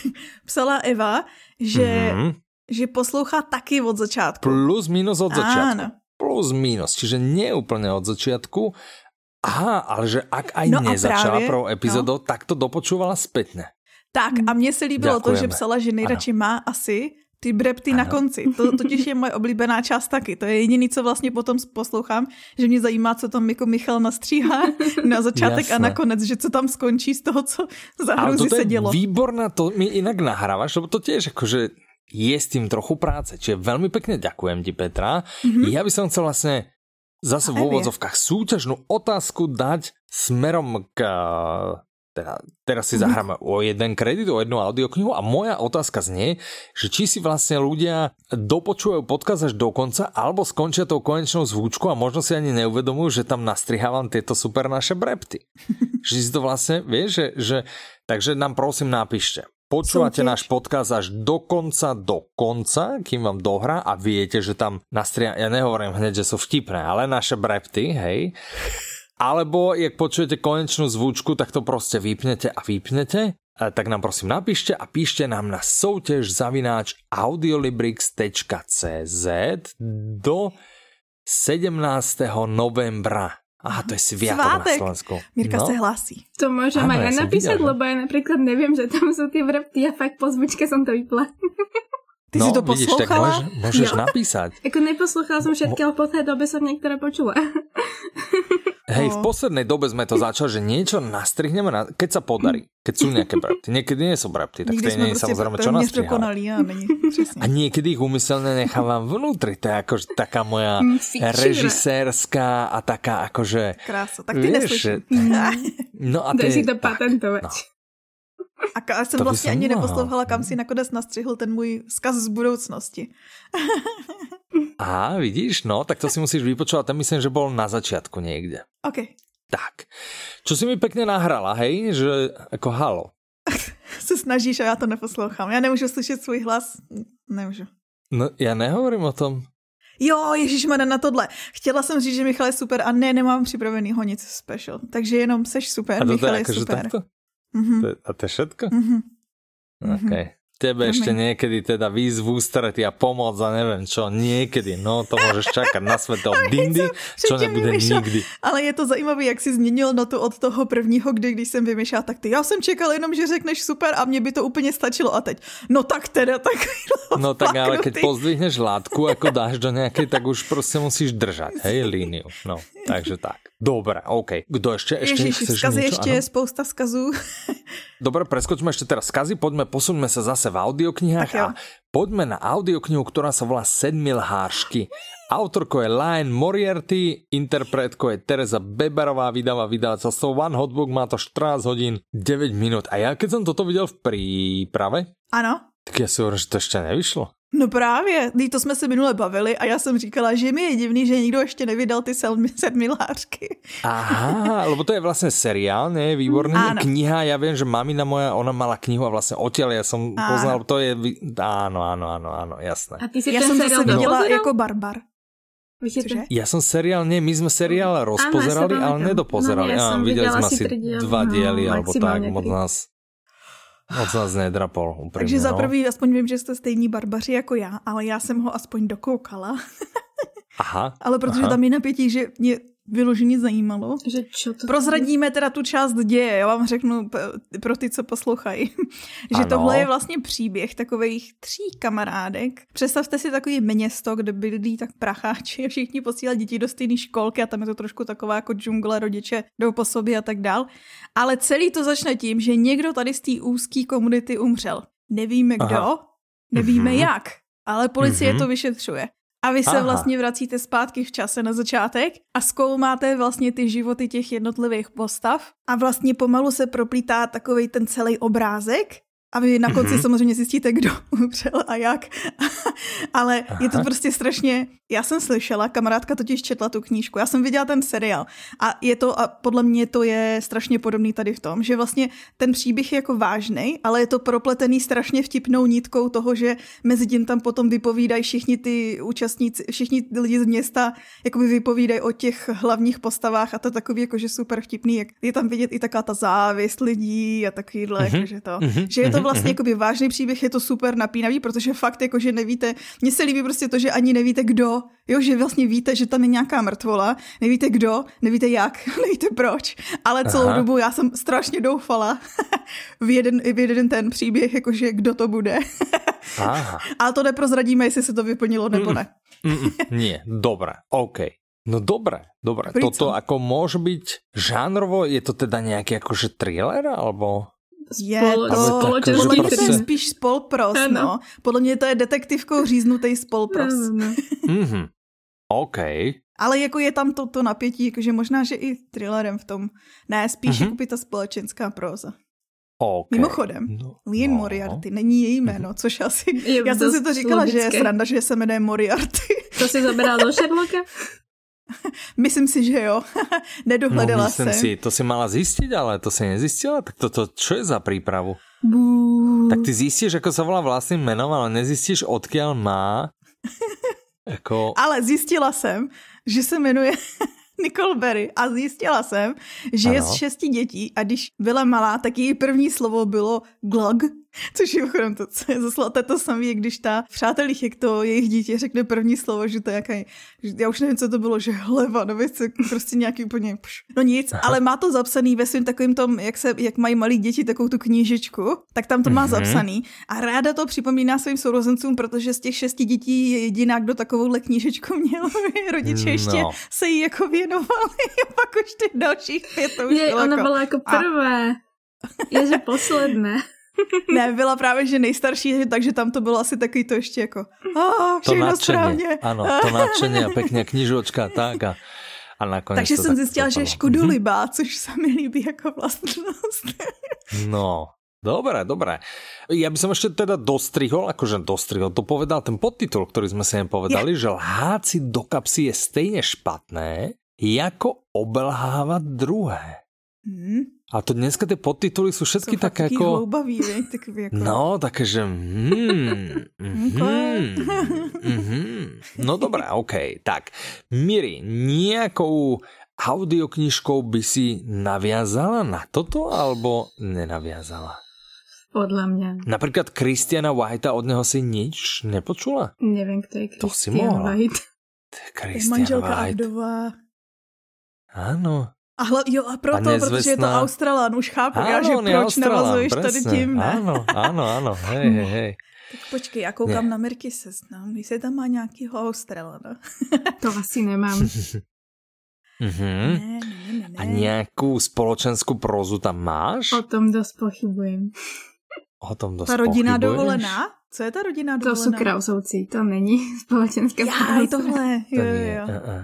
psala Eva, že... Mm-hmm. že poslouchá taky od začátku. Plus minus od začiatku. Áno. Plus minus, čiže nie úplne od začiatku. Aha, ale že ak aj no nezačala právě, prvou epizodou, no. tak to dopočúvala spätne. Tak a mně se líbilo Ďakujeme. to, že psala, že nejradši má asi ty brepty ano. na konci. To totiž je moje oblíbená část taky. To je jediný, co vlastně potom poslouchám, že mě zajímá, co tam jako Michal nastříhá na začátek Jasné. a nakonec, že co tam skončí z toho, co za hruzy se dělo. Ale toto je výborná, to mi inak nahrávaš, lebo to tiež akože je s tým trochu práce. Čiže veľmi pekne ďakujem ti, Petra. Mm-hmm. Ja by som chcel vlastne zase v úvodzovkách súťažnú otázku dať smerom k... Teda, teraz si zahráme o jeden kredit, o jednu audioknihu a moja otázka znie, že či si vlastne ľudia dopočúvajú podcast až do konca alebo skončia tou konečnou zvúčku a možno si ani neuvedomujú, že tam nastrihávam tieto super naše brepty. Že si to vlastne, vieš, že, že... Takže nám prosím napíšte. Počúvate náš podcast až do konca, do konca, kým vám dohrá a viete, že tam nastria, ja nehovorím hneď, že sú vtipné, ale naše brepty, hej. Alebo, jak počujete konečnú zvučku, tak to proste vypnete a vypnete. Tak nám prosím napíšte a píšte nám na soutěž zavináč audiolibrix tečka cé zet do sedemnásteho novembra. Aha, to je sviatok Svátek. Na Slovensku. Mirka no? se hlásí. To môžem Áno, aj ja ja napísať, videl, lebo ja napríklad neviem, že tam sú tie vrepty a fakt po zvučke som to vypla. Ty no, si to vidíš, tak poslouchala? môže, môžeš Jo. napísať. Ako neposlouchala som všetky, ale po tej dobe som niektoré počula. Hej, v poslednej dobe sme to začali, že niečo nastrihneme, na, keď sa podarí. Keď sú nejaké brepty. Niekedy nie sú brepty, tak Nikdy tej nie je samozrejme čo nastrihávať. A niekedy ich úmyselne nechávam vnútri. To je akože taká moja Fikčíra. režisérska a taká akože... Krása, tak ty neslyším. No a Daj ty, si to tak, patentovať. no. A já jsem To by vlastně som ani mohla. neposlouchala, kam si nakonec nastřihl ten můj vzkaz z budoucnosti. Aha, vidíš? No, tak to si musíš vypočúvať. Ten myslím, že bol na začiatku niekde. OK. Tak. Čo si mi pekne nahrala, hej? Že ako halo. Se snažíš a já to neposlouchám. Já nemůžu slyšet svůj hlas. Nemůžu. No, ja nehovorím o tom. Jo, ježišmarja, na tohle. Chtěla jsem říct, že Michal je super a ne, nemám připravenýho nic special. Takže jenom seš super, A to Michal je je akože super. takto? Mm-hmm. To je, a to je všetko? Mm-hmm. OK. Tebe Promiň. ešte niekedy teda výjsť v ústretí a pomôcť a neviem čo, niekedy, no to môžeš čakať na svet od Dindy, čo nebude nikdy. Ale je to zajímavé, jak si změnil notu od toho prvního, kdy když jsem vymýšlela, tak ty, já jsem čekal jenom, že řekneš super a mně by to úplně stačilo a teď, no tak teda, tak No tak ale keď ty. pozdvihneš látku, ako dáš do nejakej, tak už proste musíš držať, hej, líniu. No, takže tak. Dobre, OK. Kto ešte? Ešte Ježiši, chceš vzkazy niečo? ještě Áno? je spousta vzkazů. Dobre, preskočme ešte teraz skazy, poďme, posuňme sa zase v audioknihách a poďme na audioknihu, ktorá sa volá Sedmilhářky. Autorkou je Liane Moriarty, interpretkou je Teresa Beberová, vydáva vydavateľstvo One Hot Book, má to štrnásť hodín, deväť minút. A ja keď som toto videl v príprave, Ano. tak ja si hovorím, že to ešte nevyšlo. No právě, to jsme se minule bavili a já jsem říkala, že mi je divný, že nikdo ještě nevydal ty sedmilhářky. Aha, lebo to je vlastne seriál, nie je výborný. Áno. Kniha, ja viem, že mamina moja, ona mala knihu a vlastne odtiaľ ja som Áno. poznal, to je, áno, áno, áno, áno, jasné. A ty si Já ten jsem seriál zase viděla dopozeral? jako Barbar. Víte, Cože? Ja som seriál, nie, my sme seriál rozpozerali, Áno, ja sa ale pamätám. nedopozerali. No, ja Áno, som videli videla sme asi asi tri diely, dva no, diely, alebo tak, maximálne moc tri. nás, moc nás nedrapol. Úprimne, Takže za no. prvý aspoň vím, že jste stejní barbaři jako já, ale já jsem ho aspoň dokoukala. Aha. Ale protože aha. tam je napětí, že mě vyloženě zajímalo. Že čo to Prozradíme teda tu část děje, já vám řeknu pro ty, co poslouchají, že tohle je vlastně příběh takových tří kamarádek. Představte si takový město, kde bydlí tak pracháči a všichni posílají děti do stejné školky a tam je to trošku taková jako džungle, rodiče jdou po sobě a tak dál. Ale celý to začne tím, že někdo tady z té úzké komunity umřel. Nevíme kdo, Aha. nevíme mm-hmm. jak, ale policie mm-hmm. to vyšetřuje. A vy se Aha. vlastně vracíte zpátky v čase na začátek a zkoumáte vlastně ty životy těch jednotlivých postav a vlastně pomalu se proplítá takovej ten celý obrázek a vy na konci mm-hmm. samozřejmě zjistíte, kdo umřel a jak. Ale Aha. je to prostě strašně... Já jsem slyšela, kamarádka totiž četla tu knížku, já jsem viděla ten seriál a je to, a podle mě to je strašně podobný tady v tom, že vlastně ten příběh je jako vážnej, ale je to propletený strašně vtipnou nitkou toho, že mezi tím tam potom vypovídají všichni ty účastníci, všichni ty lidi z města jakoby vypovídají o těch hlavních postavách a to je takový jakože super vtipný, jak je tam vidět i taková ta závist lidí a takovýhle, mm-hmm. jakože to, mm-hmm. že je to vlastně mm-hmm. jakoby vážný příběh, je to super napínavý, protože fakt jakože nevíte, mně se líbí prostě to, že ani nevíte kdo. Jo, že vlastně víte, že tam je nějaká mrtvola, nevíte kdo, nevíte jak, nevíte proč, ale celou Aha. dobu já jsem strašně doufala v jeden, v jeden ten příběh, jakože kdo to bude. Aha. Ale to neprozradíme, jestli se to vyplnilo nebo ne. Mm, mm, nie, dobré, OK. No dobré, dobré. Príco. Toto ako môže byť žánrovo, je to teda nejaký akože thriller, alebo... Je to, podle mě to je spíš spolpros, no. Podle mě to je detektivkou říznutej spolpros. Mm-hmm. OK. Ale jako je tam to, to napětí, jakože možná, že i thrillerem v tom. Ne, spíš mm-hmm. jako ta společenská próza. Okay. Mimochodem, no, Liane no. Moriarty není její jméno, což asi... Je já jsem si to říkala, logické. Že je sranda, že se jmenuje Moriarty. To si zabrala do Sherlocka? Myslím si, že jo. Nedohledala no, myslím se. Si, to si mala zistiť, ale to si nezistila? Tak toto, čo je za prípravu? Bú. Tak ty zistíš, ako sa volá vlastným menom, ale nezistíš, odkiaľ má. Ako... Ale zjistila jsem, že se jmenuje Nicole Berry a zjistila jsem, že ano. je z šesti dětí a když byla malá, tak její první slovo bylo glog, což je ochodem to, co je zaslala, to je to samé, když ta v Přátelích, jak to jejich dítě řekne první slovo, že to je jaký, já už nevím, co to bylo, že hleva, no víc, prostě nějaký úplně, pš. No nic, Aha. ale má to zapsaný ve svým takovým tom, jak, se, jak mají malí děti takovou tu knížičku, tak tam to má mm-hmm. zapsaný a ráda to připomíná svým sourozencům, protože z těch šesti dětí je jediná, kdo takovouhle knížičku měl, rodiče no. ještě se jí jako věnovali a pak už těch dalších pět to už je, ona jako... byla jako prvé, je, že posledné. Ne, byla právě, že nejstarší, takže tam to bylo asi takový to ještě jako oh, všechno správně. Ano, to nadšení a pěkně knižočka, tak a, a nakonec takže to jsem tak zjistila, že je škodolibá, což se mi líbí jako vlastnost. No, dobré, dobré. Ja by som ešte teda dostrihol, akože dostrihol, to povedal ten podtitul, ktorý sme si povedali, yeah. že lhát si do kapsy je stejne špatné, jako obelhávať druhé. Hmm. A to dneska tie podtituly sú všetky sú také ako... hloubaví, ne? Takový ako... No, také, že... Mm, mm, mm, no dobré, okej. Okay. Tak, Miri, nejakou audioknižkou by si naviazala na toto, alebo nenaviazala? Podľa mňa. Napríklad Christiana Whitea, od neho si nič nepočula? Neviem, kto je Christian to si mohla. White. Christian manželka White. Abdová. Áno. A hla, jo, a proto, a protože je to Australán, už chápu, áno, já, že proč navazuješ tady tím, ne? Áno, áno, áno, hej, hej, hej. Tak počkej, já koukám ne. na Mirky seznam, jestli tam má nějakýho Australana. To asi nemám. Mm-hmm. Ne, ne, ne, ne. A nějakou společenskou prózu tam máš? O tom dost pochybujem. O tom dost Ta rodina pochybuješ? dovolená? Co je ta rodina dovolená? To jsou Krausovci, to není společenská próza. Já, tohle, jo, jo, jo. Uh-uh.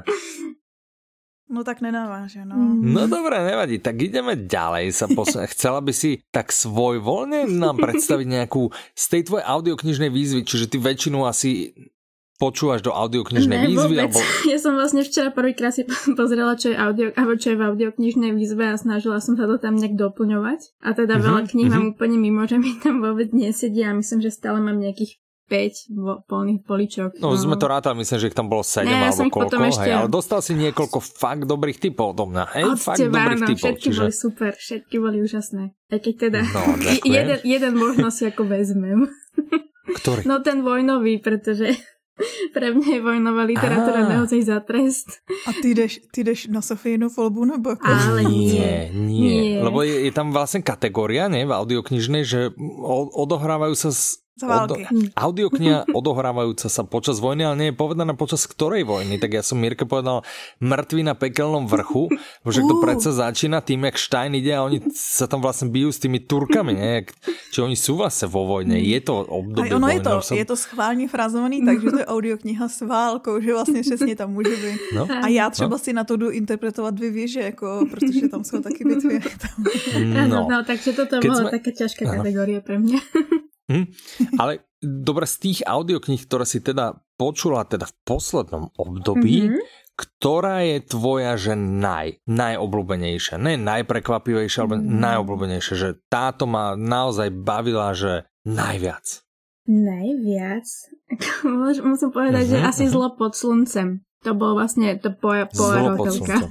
No tak nenaváže, no. No dobré, nevadí, tak ideme ďalej sa posunúť. Chcela by si tak svojvoľne nám predstaviť nejakú z tej tvojej audioknižnej výzvy, čiže ty väčšinu asi počúvaš do audioknižnej ne, výzvy? Alebo... Ja som vlastne včera prvýkrát si pozrela, čo je, audio, alebo čo je v audioknižnej výzve a snažila som sa to tam nejak doplňovať. A teda uh-huh, veľa kníh uh-huh. mám úplne mimo, že mi tam vôbec nesedí a myslím, že stále mám nejakých päť polných poličok. No, no sme to rátali, myslím, že ich tam bolo sedem ne, alebo koľko, hej, ešte... ale dostal si niekoľko fakt dobrých typov do mňa, hej, od fakt teba, dobrých no, typov. Všetky čiže... boli super, všetky boli úžasné. Aj keď teda no, jeden, jeden možno si ako vezmem. Ktorý? No ten vojnový, pretože Pre mňa je vojnová literatúra naozaj za trest. A ty jdeš, ty jdeš na Sofínu volbu, nebo? Ale nie, nie. nie. Lebo je, je tam vlastne kategória, ne, v audioknižnej, že odohrávajú sa s Od, audiokniha odohrávajúca sa počas vojny, ale nie je povedaná počas ktorej vojny. Tak ja som Mirke povedal mŕtvy na pekelnom vrchu, že to predsa začína tým, jak Stein ide a oni sa tam vlastne bijú s tými Turkami, ne? Či oni sú vlastne vo vojne. Je to obdobie ono vojny. je to, som... je to schválně frázovaný, takže to je audiokniha s válkou, že vlastně přesně tam může být. No? A já třeba no? si na to jdu interpretovat dvě věže, jako, protože tam jsou taky bitvy. No, no takže toto bola sme... taká ťažká kategória pre mňa. Hm, ale dobre, z tých audiokníh, ktoré si teda počula teda v poslednom období, mm-hmm. ktorá je tvoja, že naj, najobľúbenejšia, ne najprekvapivejšia, ale mm-hmm. najobľúbenejšia, že táto ma naozaj bavila, že najviac. Najviac? Musím povedať, mm-hmm. že asi Zlo pod sluncem. To bolo vlastne to poja, poja Zlo pod sluncem.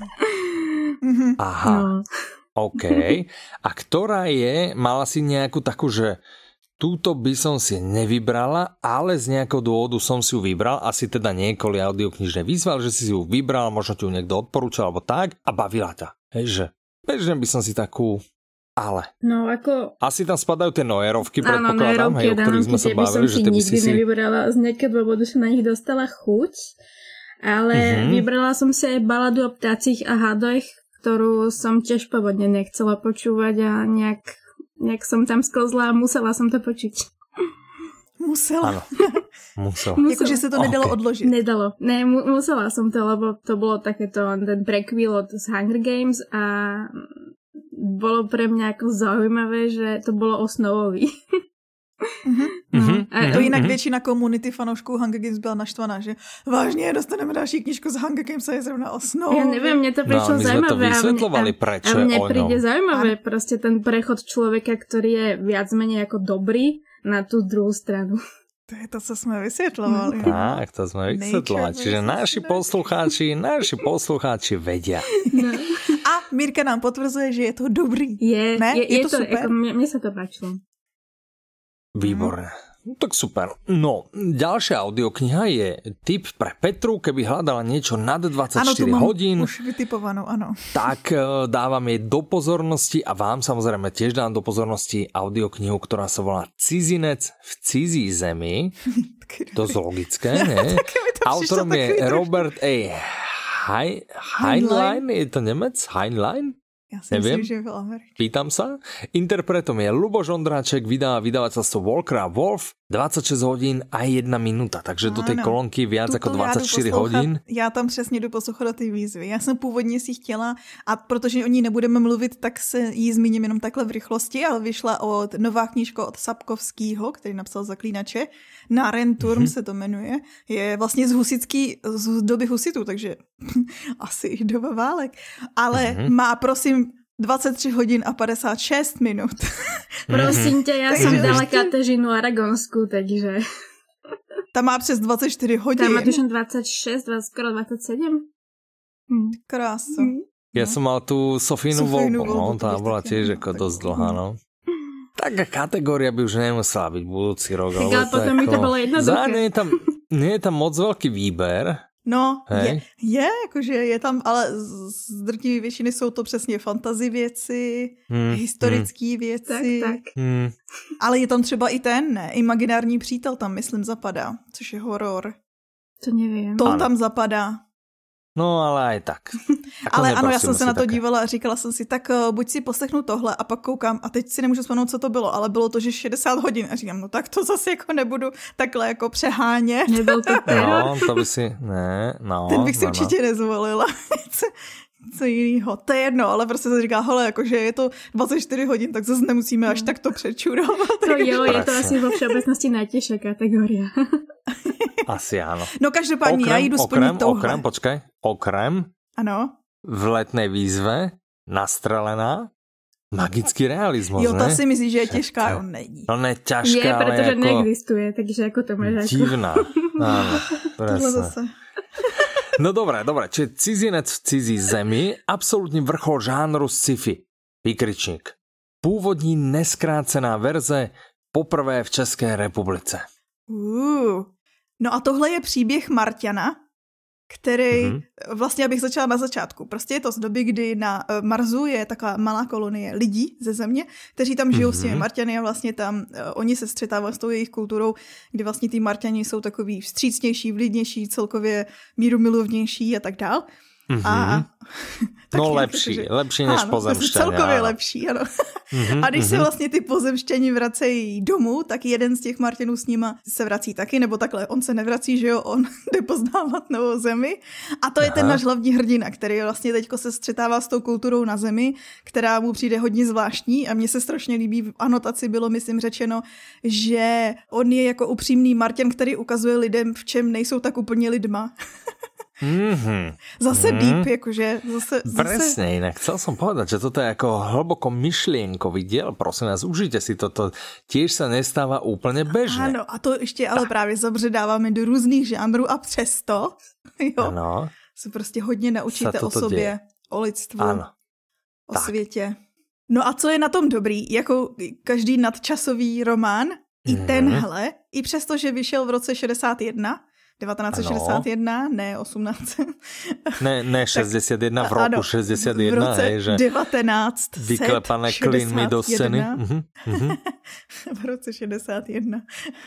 Aha, no. OK. A ktorá je, mala si nejakú takú, že túto by som si nevybrala, ale z nejakého dôvodu som si ju vybral, asi teda niekoľko audioknižne vyzval, že si ju vybral, možno ti ju niekto odporúčal, alebo tak, a bavila ťa. Hej, že bežne by som si takú, ale... No ako... Asi tam spadajú tie Noérovky, predpokladám, hej, o ktorých sme sa bavili, že ty by si si... nikdy nevybrala, z nejakého dôvodu som na nich dostala chuť, ale mm-hmm. vybrala som si aj baladu o ptácich a hadoch, ktorú som tiež pôvodne nechcela počúvať a nejak... nejak som tam sklzla a musela som to počuť. Musela? Áno, musela. musela. Jakože sa to nedalo okay. odložiť? Nedalo. Ne, mu- musela som to, lebo to bolo takéto ten prequel od Hunger Games a bolo pre mňa ako zaujímavé, že to bolo osnovový. Mm-hmm. No. A to jinak většina komunity fanoušků Hunger Games byla naštvaná, že vážně dostaneme další knižku z Hunger Games a je zrovna osnou. Ja neviem, mne to prišlo no, zaujímavé. My sme to vysvetľovali, prečo. A mne príde zaujímavé a... proste ten prechod človeka, ktorý je viac menej ako dobrý na tú druhú stranu. To je to, co jsme vysvětlovali. Tak, to jsme vysvětlovali. Čiže naši poslucháči, naši poslucháči vedia. No. A Mirka nám potvrzuje, že je to dobrý. Je, ne? je, je, je to, to super. Ako, mne, mne sa to páčilo. Výborné. No, tak super. No, ďalšia audiokniha je tip pre Petru, keby hľadala niečo nad dvadsaťštyri ano, hodín. Už vytipovanou, áno. Tak uh, dávam jej do pozornosti a vám samozrejme tiež dám do pozornosti audioknihu, ktorá sa volá Cizinec v cizí zemi. Dosť logické, nie? Autorom je Robert A. Heinlein, je to Nemec? Heinlein? Ja si Neviem. myslím, že v Amerike. Pýtam sa. Interpretom je Ľuboš Ondráček, vydá vydavateľstvo Walker a Wolf, dvadsaťšesť hodín a jedna minúta, takže do tej kolonky viac Tuto ako dvadsaťštyri hodín. Já tam přesně jdu poslouchat ty výzvy. Já jsem původně si chtěla, a protože o ní nebudeme mluvit, tak se jí zmíním jenom takhle v rychlosti, ale vyšla od nová knížka od Sapkovského, který napsal Zaklínače. Narenturm mm-hmm. se to jmenuje. Je vlastně z husický, z doby husitů, takže asi i doba válek. Ale mm-hmm. má, prosím, dvacet tři hodin a padesát šest minut. Prosím tě, já jsem dala Kateřinu Aragonsku, takže... Tam má přes dvacet čtyři hodin. Tam má tuším dvacet šest, skoro dvacet sedm. Hm. Krása. Hm. Ja som mal tú Sofínu voľbu, no, tá bola tiež ako tak, dosť dlhá, no. Taká kategória by už nemusela byť budúci rok. Tak ale potom by to bolo jednoduché. Nie je tam, nie je tam moc veľký výber. No, je, je, jakože je tam, ale z drtivé většiny jsou to přesně fantasy věci, hmm, historické hmm. věci. Tak, tak. Hmm. Ale je tam třeba i ten, ne, imaginární přítel tam, myslím, zapadá, což je horor. To nevím. To ano. tam zapadá. No, ale aj tak. Ako ale ano, já jsem se na to také. dívala a říkala jsem si, tak uh, buď si poslechnu tohle a pak koukám a teď si nemůžu vzpomenout, co to bylo, ale bylo to, že šedesát hodin a říkám, no tak to zase jako nebudu takhle jako přehánět. Nebyl to teror? No, to by si, ne, no. Ten bych si no, určitě no. nezvolila. Co jinýho. To je jedno, ale prostě se říká, hele, jakože je to dvacet čtyři hodin, tak zase nemusíme až takto přečurovat. To jo, je to asi vo všeobecnosti najtěžšia kategória. Asi áno. No každopádně, okrem, já jdu splnit okrem, touhle. Okrem, počkaj, okrem ano. v letnej výzve nastrelená magický realizmus, jo, to ne? si myslíš, že je těžká, on není. No ne ťažká, je, ale pretože ako... neexistuje, takže ako to máš ako... Divná, áno, presne. Zase. No dobré, dobré, čiže Cizinec v cizí zemi, absolútny vrchol žánru sci-fi, výkričník. Původní neskrácená verze, poprvé v České republice. Uh, No a tohle je příběh Marťana, který, mm-hmm. vlastně abych začala na začátku, prostě je to z doby, kdy na Marsu je taková malá kolonie lidí ze země, kteří tam žijou mm-hmm. s těmi Marťany a vlastně tam uh, oni se střetávají s tou jejich kulturou, kdy vlastně ty Marťani jsou takový vstřícnější, vlídnější, celkově mírumilovnější a tak dál. Mm-hmm. A no lepší, protože, lepší než ano, pozemšťania. Celkově lepší, ano. Mm-hmm, a když mm-hmm. se vlastně ty pozemšťani vracejí domů, tak jeden z těch Marťanů s nima se vrací taky, nebo takhle, on se nevrací, že jo, on jde poznávat novou zemi. A to Aha. je ten náš hlavní hrdina, který vlastně teďko se střetává s tou kulturou na zemi, která mu přijde hodně zvláštní a mně se strašně líbí, v anotaci bylo, myslím, řečeno, že on je jako upřímný Marťan, který ukazuje lidem, v čem nejsou tak úplně lidma. Mm-hmm. Zase mm-hmm. deep, jakože zase, zase... Presne, inak chcel som povedať, že toto je ako hlboko myšlienkový diel, prosím vás, užite si toto, tiež sa nestáva úplne bežne. Áno, a to ešte ale právě zabředáváme do různých žánrů a přesto, jo, ano. se prostě hodně naučíte o sobě, děje. O lidstvu, ano. o tak. světě. No a co je na tom dobrý, jako každý nadčasový román, mm-hmm. i tenhle, i přesto, že vyšel v roce šedesát jedna, devatenáct šedesát jedna, ano. ne osmnáct. Ne, ne šedesát jedna, tak, v roku ano, šedesát jedna. V roce hej, že devatenáct vyklepané klínmi do scény. Uh-huh, uh-huh. V roce šedesát jedna.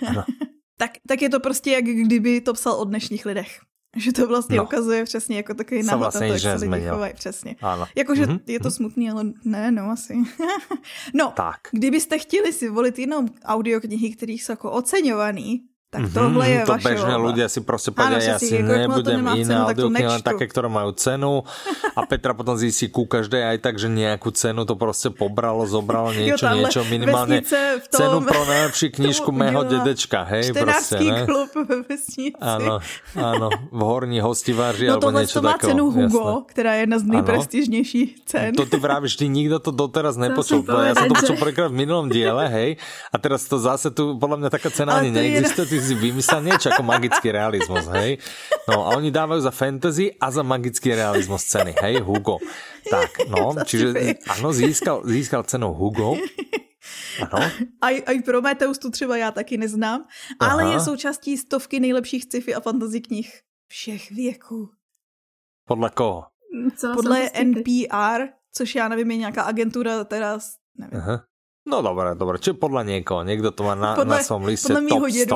tak, tak je to prostě, jak kdyby to psal o dnešních lidech. Že to vlastně no. ukazuje přesně jako takový návod vlastně, na to, jak se lidi chovají. Přesně. Jakože mm-hmm. je to smutný, ale ne, no asi. no, tak. kdybyste chtěli si volit jenom audioknihy, které jsou jako oceňovaný, tak tohle je to vaše bežné voľba. ľudia si proste povedia, ja si nebudem iné audioknihy, len také, ktoré majú cenu a Petra potom zistí ku každej aj tak, že nejakú cenu to proste pobralo, zobralo niečo, jo, niečo minimálne cenu pro najlepší knižku mého dedečka, hej, proste, ne? klub ve vesnici. Áno, áno, v Horní hostiváři no, alebo niečo takého. No to má cenu Hugo, jasné. Ktorá je jedna z nejprestižnějších cen. To ty vravíš, ty nikto to doteraz nepočul. Ja som to počul prvýkrát v minulom diele, hej, a teraz to zase tu, podľa mňa taká cena ani neexistuje, si vymyslel niečo ako magický realizmus, hej? No a oni dávajú za fantasy a za magický realizmus ceny, hej? Hugo. Tak, no, čiže áno, získal, získal cenu Hugo. Ano. Aj, aj Prometheus tu třeba já taky neznám, Aha. ale je součástí stovky nejlepších sci-fi a fantasy knih všech věků. Podle koho? Co Podle N P R, což já nevím, je nějaká agentura, teraz nevím. Aha. No dobré, dobré, čiže podľa niekoho, niekto to má na, podľa, na svojom liste top sto.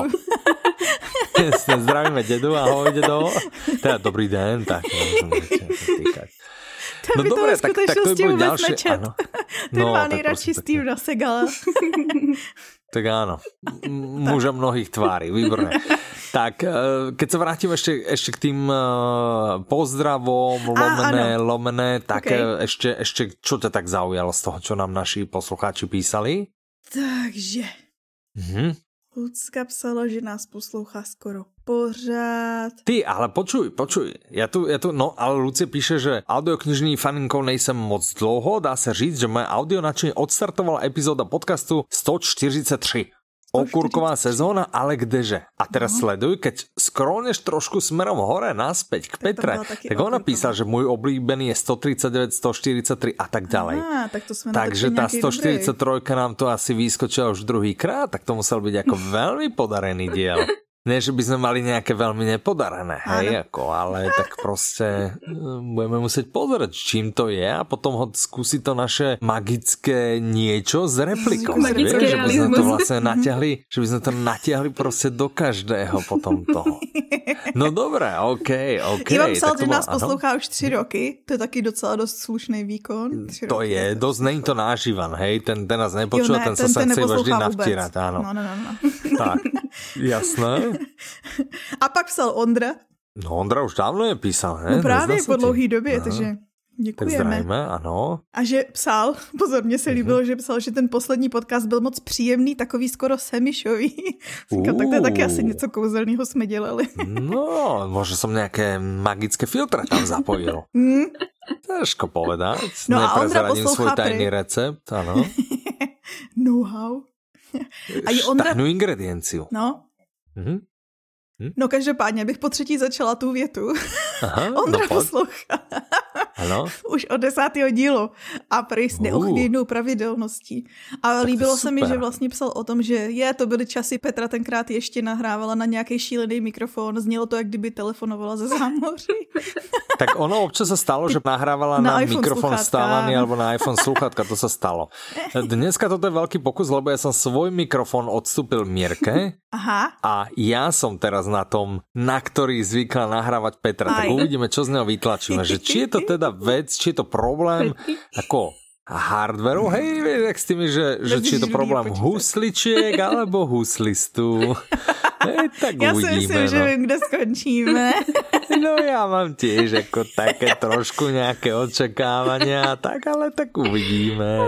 Jasne, zdravíme dedu, ahoj dedo. Teda dobrý den, tak môžeme týkať. No dobré, tak, tak to by bolo ďalšie. Áno. Ten no, má nejradši Stevena Segala. Tak áno, muža mnohých tvári, výborné. Tak, keď sa vrátim ešte, ešte k tým pozdravom, lomené, Á, lomené, tak okay. ešte, ešte čo ťa tak zaujalo z toho, čo nám naši poslucháči písali? Takže, mhm. Lucka psala, že nás poslouchá skoro pořád. Ty, ale počuj, počuj, ja tu, ja tu, no, ale Lucie píše, že audioknižný faninkou nejsem moc dlouho, dá se říct, že moje audio nadšení odstartovala epizóda podcastu sto čtyřicet tři. Okurková sezóna, ale kdeže? A teraz no. sleduj, keď scrollneš trošku smerom hore naspäť k Petre, tak ona písala, že môj oblíbený je sto tridsaťdeväť, sto štyridsaťtri a tak ďalej. Aha, tak to sme Takže tá sto štyridsaťtrojka nám to asi vyskočila už druhý krát, tak to musel byť ako veľmi podarený diel. Nie, že by sme mali nejaké veľmi nepodarené, hej, ako, ale tak proste budeme musieť pozerať, čím to je a potom ho skúsiť to naše magické niečo zreplikovať, vieš, že by sme to vlastne natiahli, že by sme to natiahli proste do každého potom toho. No dobré, okej, okay, okej. Okay, Ivan psal, že nás poslouchá už tři roky, to je taky docela dost slušný výkon. To je, dosť, není to náš Ivan, hej, ten, ten nás nepočúva, ten, ten sa chce vždy navtírať, áno. No, no, no, no. Tak, jasné. A pak psal Ondra. No Ondra už dávno je písal, ne? No právě po dlouhý době, no. Takže děkujeme. Tak zdravíme, ano. A že psal, pozor, mně se líbilo, mm-hmm. že psal, že ten poslední podcast byl moc příjemný, takový skoro semišový. Říkal, tak to je taky asi něco kouzelného jsme dělali. No, možno som nejaké magické filtre tam zapojil. Mm. Ťažko povedať. No a Ondra poslouchá svoj tajný recept, ano. Know-how. A i Ondra... Tajnú ingredienciu. No. Mhm. Hm? No každopádně bych po třetí začala tu větu. Aha, Ondra no poslouchá. Ano? Už od desátého dílu a prý s neochvějnou pravidelností. A tak líbilo se mi, že vlastně psal o tom, že je, to byly časy, Petra tenkrát ještě nahrávala na nějaký šílený mikrofon, znělo to, jak kdyby telefonovala ze zámoří. Tak ono občas sa stalo, že nahrávala na, na mikrofón stávaný alebo na iPhone slúchatka, to sa stalo. Dneska toto je veľký pokus, lebo ja som svoj mikrofón odstúpil Mirke. Aha. A ja som teraz na tom, na ktorý zvykla nahrávať Petra. Aj. Tak uvidíme, čo z neho vytlačíme. Že či je to teda vec, či je to problém ako hardwareu, hej, jak s tými, že, že či je to problém husličiek alebo huslistu. Hej, tak ja uvidíme. Ja si myslím, no. že viem, kde skončíme. No ja mám tiež ako také trošku nejaké očakávania, tak ale tak uvidíme.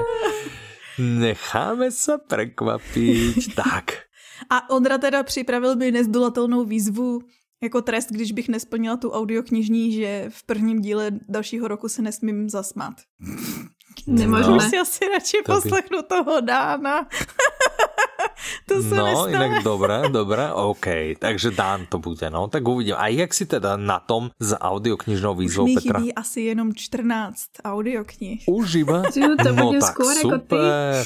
Necháme sa prekvapiť. Tak. A Ondra teda připravil mi nezdolatelnou výzvu jako trest, když bych nesplnila tu audioknižní, že v prvním díle dalšího roku se nesmím zasmát. Nemožné. No, si asi radši to poslechnu by... toho Dána. To se no, nestane. inak dobré, dobré, OK. Takže Dán to bude, no. Tak uvidím. A jak si teda na tom s audioknižnou výzvou, Petra? Už mi Petra? chybí asi jenom čtrnáct audioknih. Už iba? To no bude tak skôr super. Ako ty.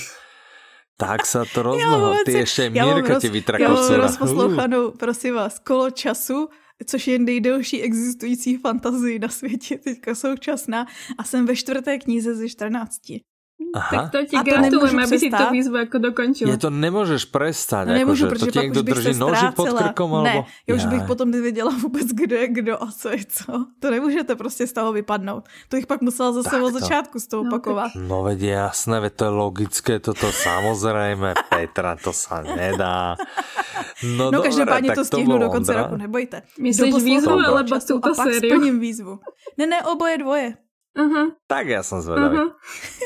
Tak sa to rozmohlo. Ty ešte Mirka ti vytrakosura. Já mám rozposlouchanou, prosím vás, Kolo času, což je nejdelší existující fantazii na světě, teďka současná, a jsem ve čtvrté knize ze čtrnácti. Aha. Tak to ti gratulujem, aby si to výzvu ako dokončila. Je to nemôžeš prestať, no, nemůžu, akože to ti niekto drží nožík pod krkom, ne, alebo... já už bych potom nevěděla vůbec, kdo je kdo a co je co. To nemůžete prostě z toho vypadnout. To bych pak musela zase od začátku z toho opakovat. No, no veď jasné, veď to je logické, toto samozrejme, Petra, to sa nedá. No, no dobré, každopádně to stihnu do konce Ondra. roku, nebojte. Myslíš výzvu, alebo túto a pak sériu? splním výzvu. Ne, ne, oboje dvoje. Uh-huh. Tak ja som zvedavý. Uh-huh.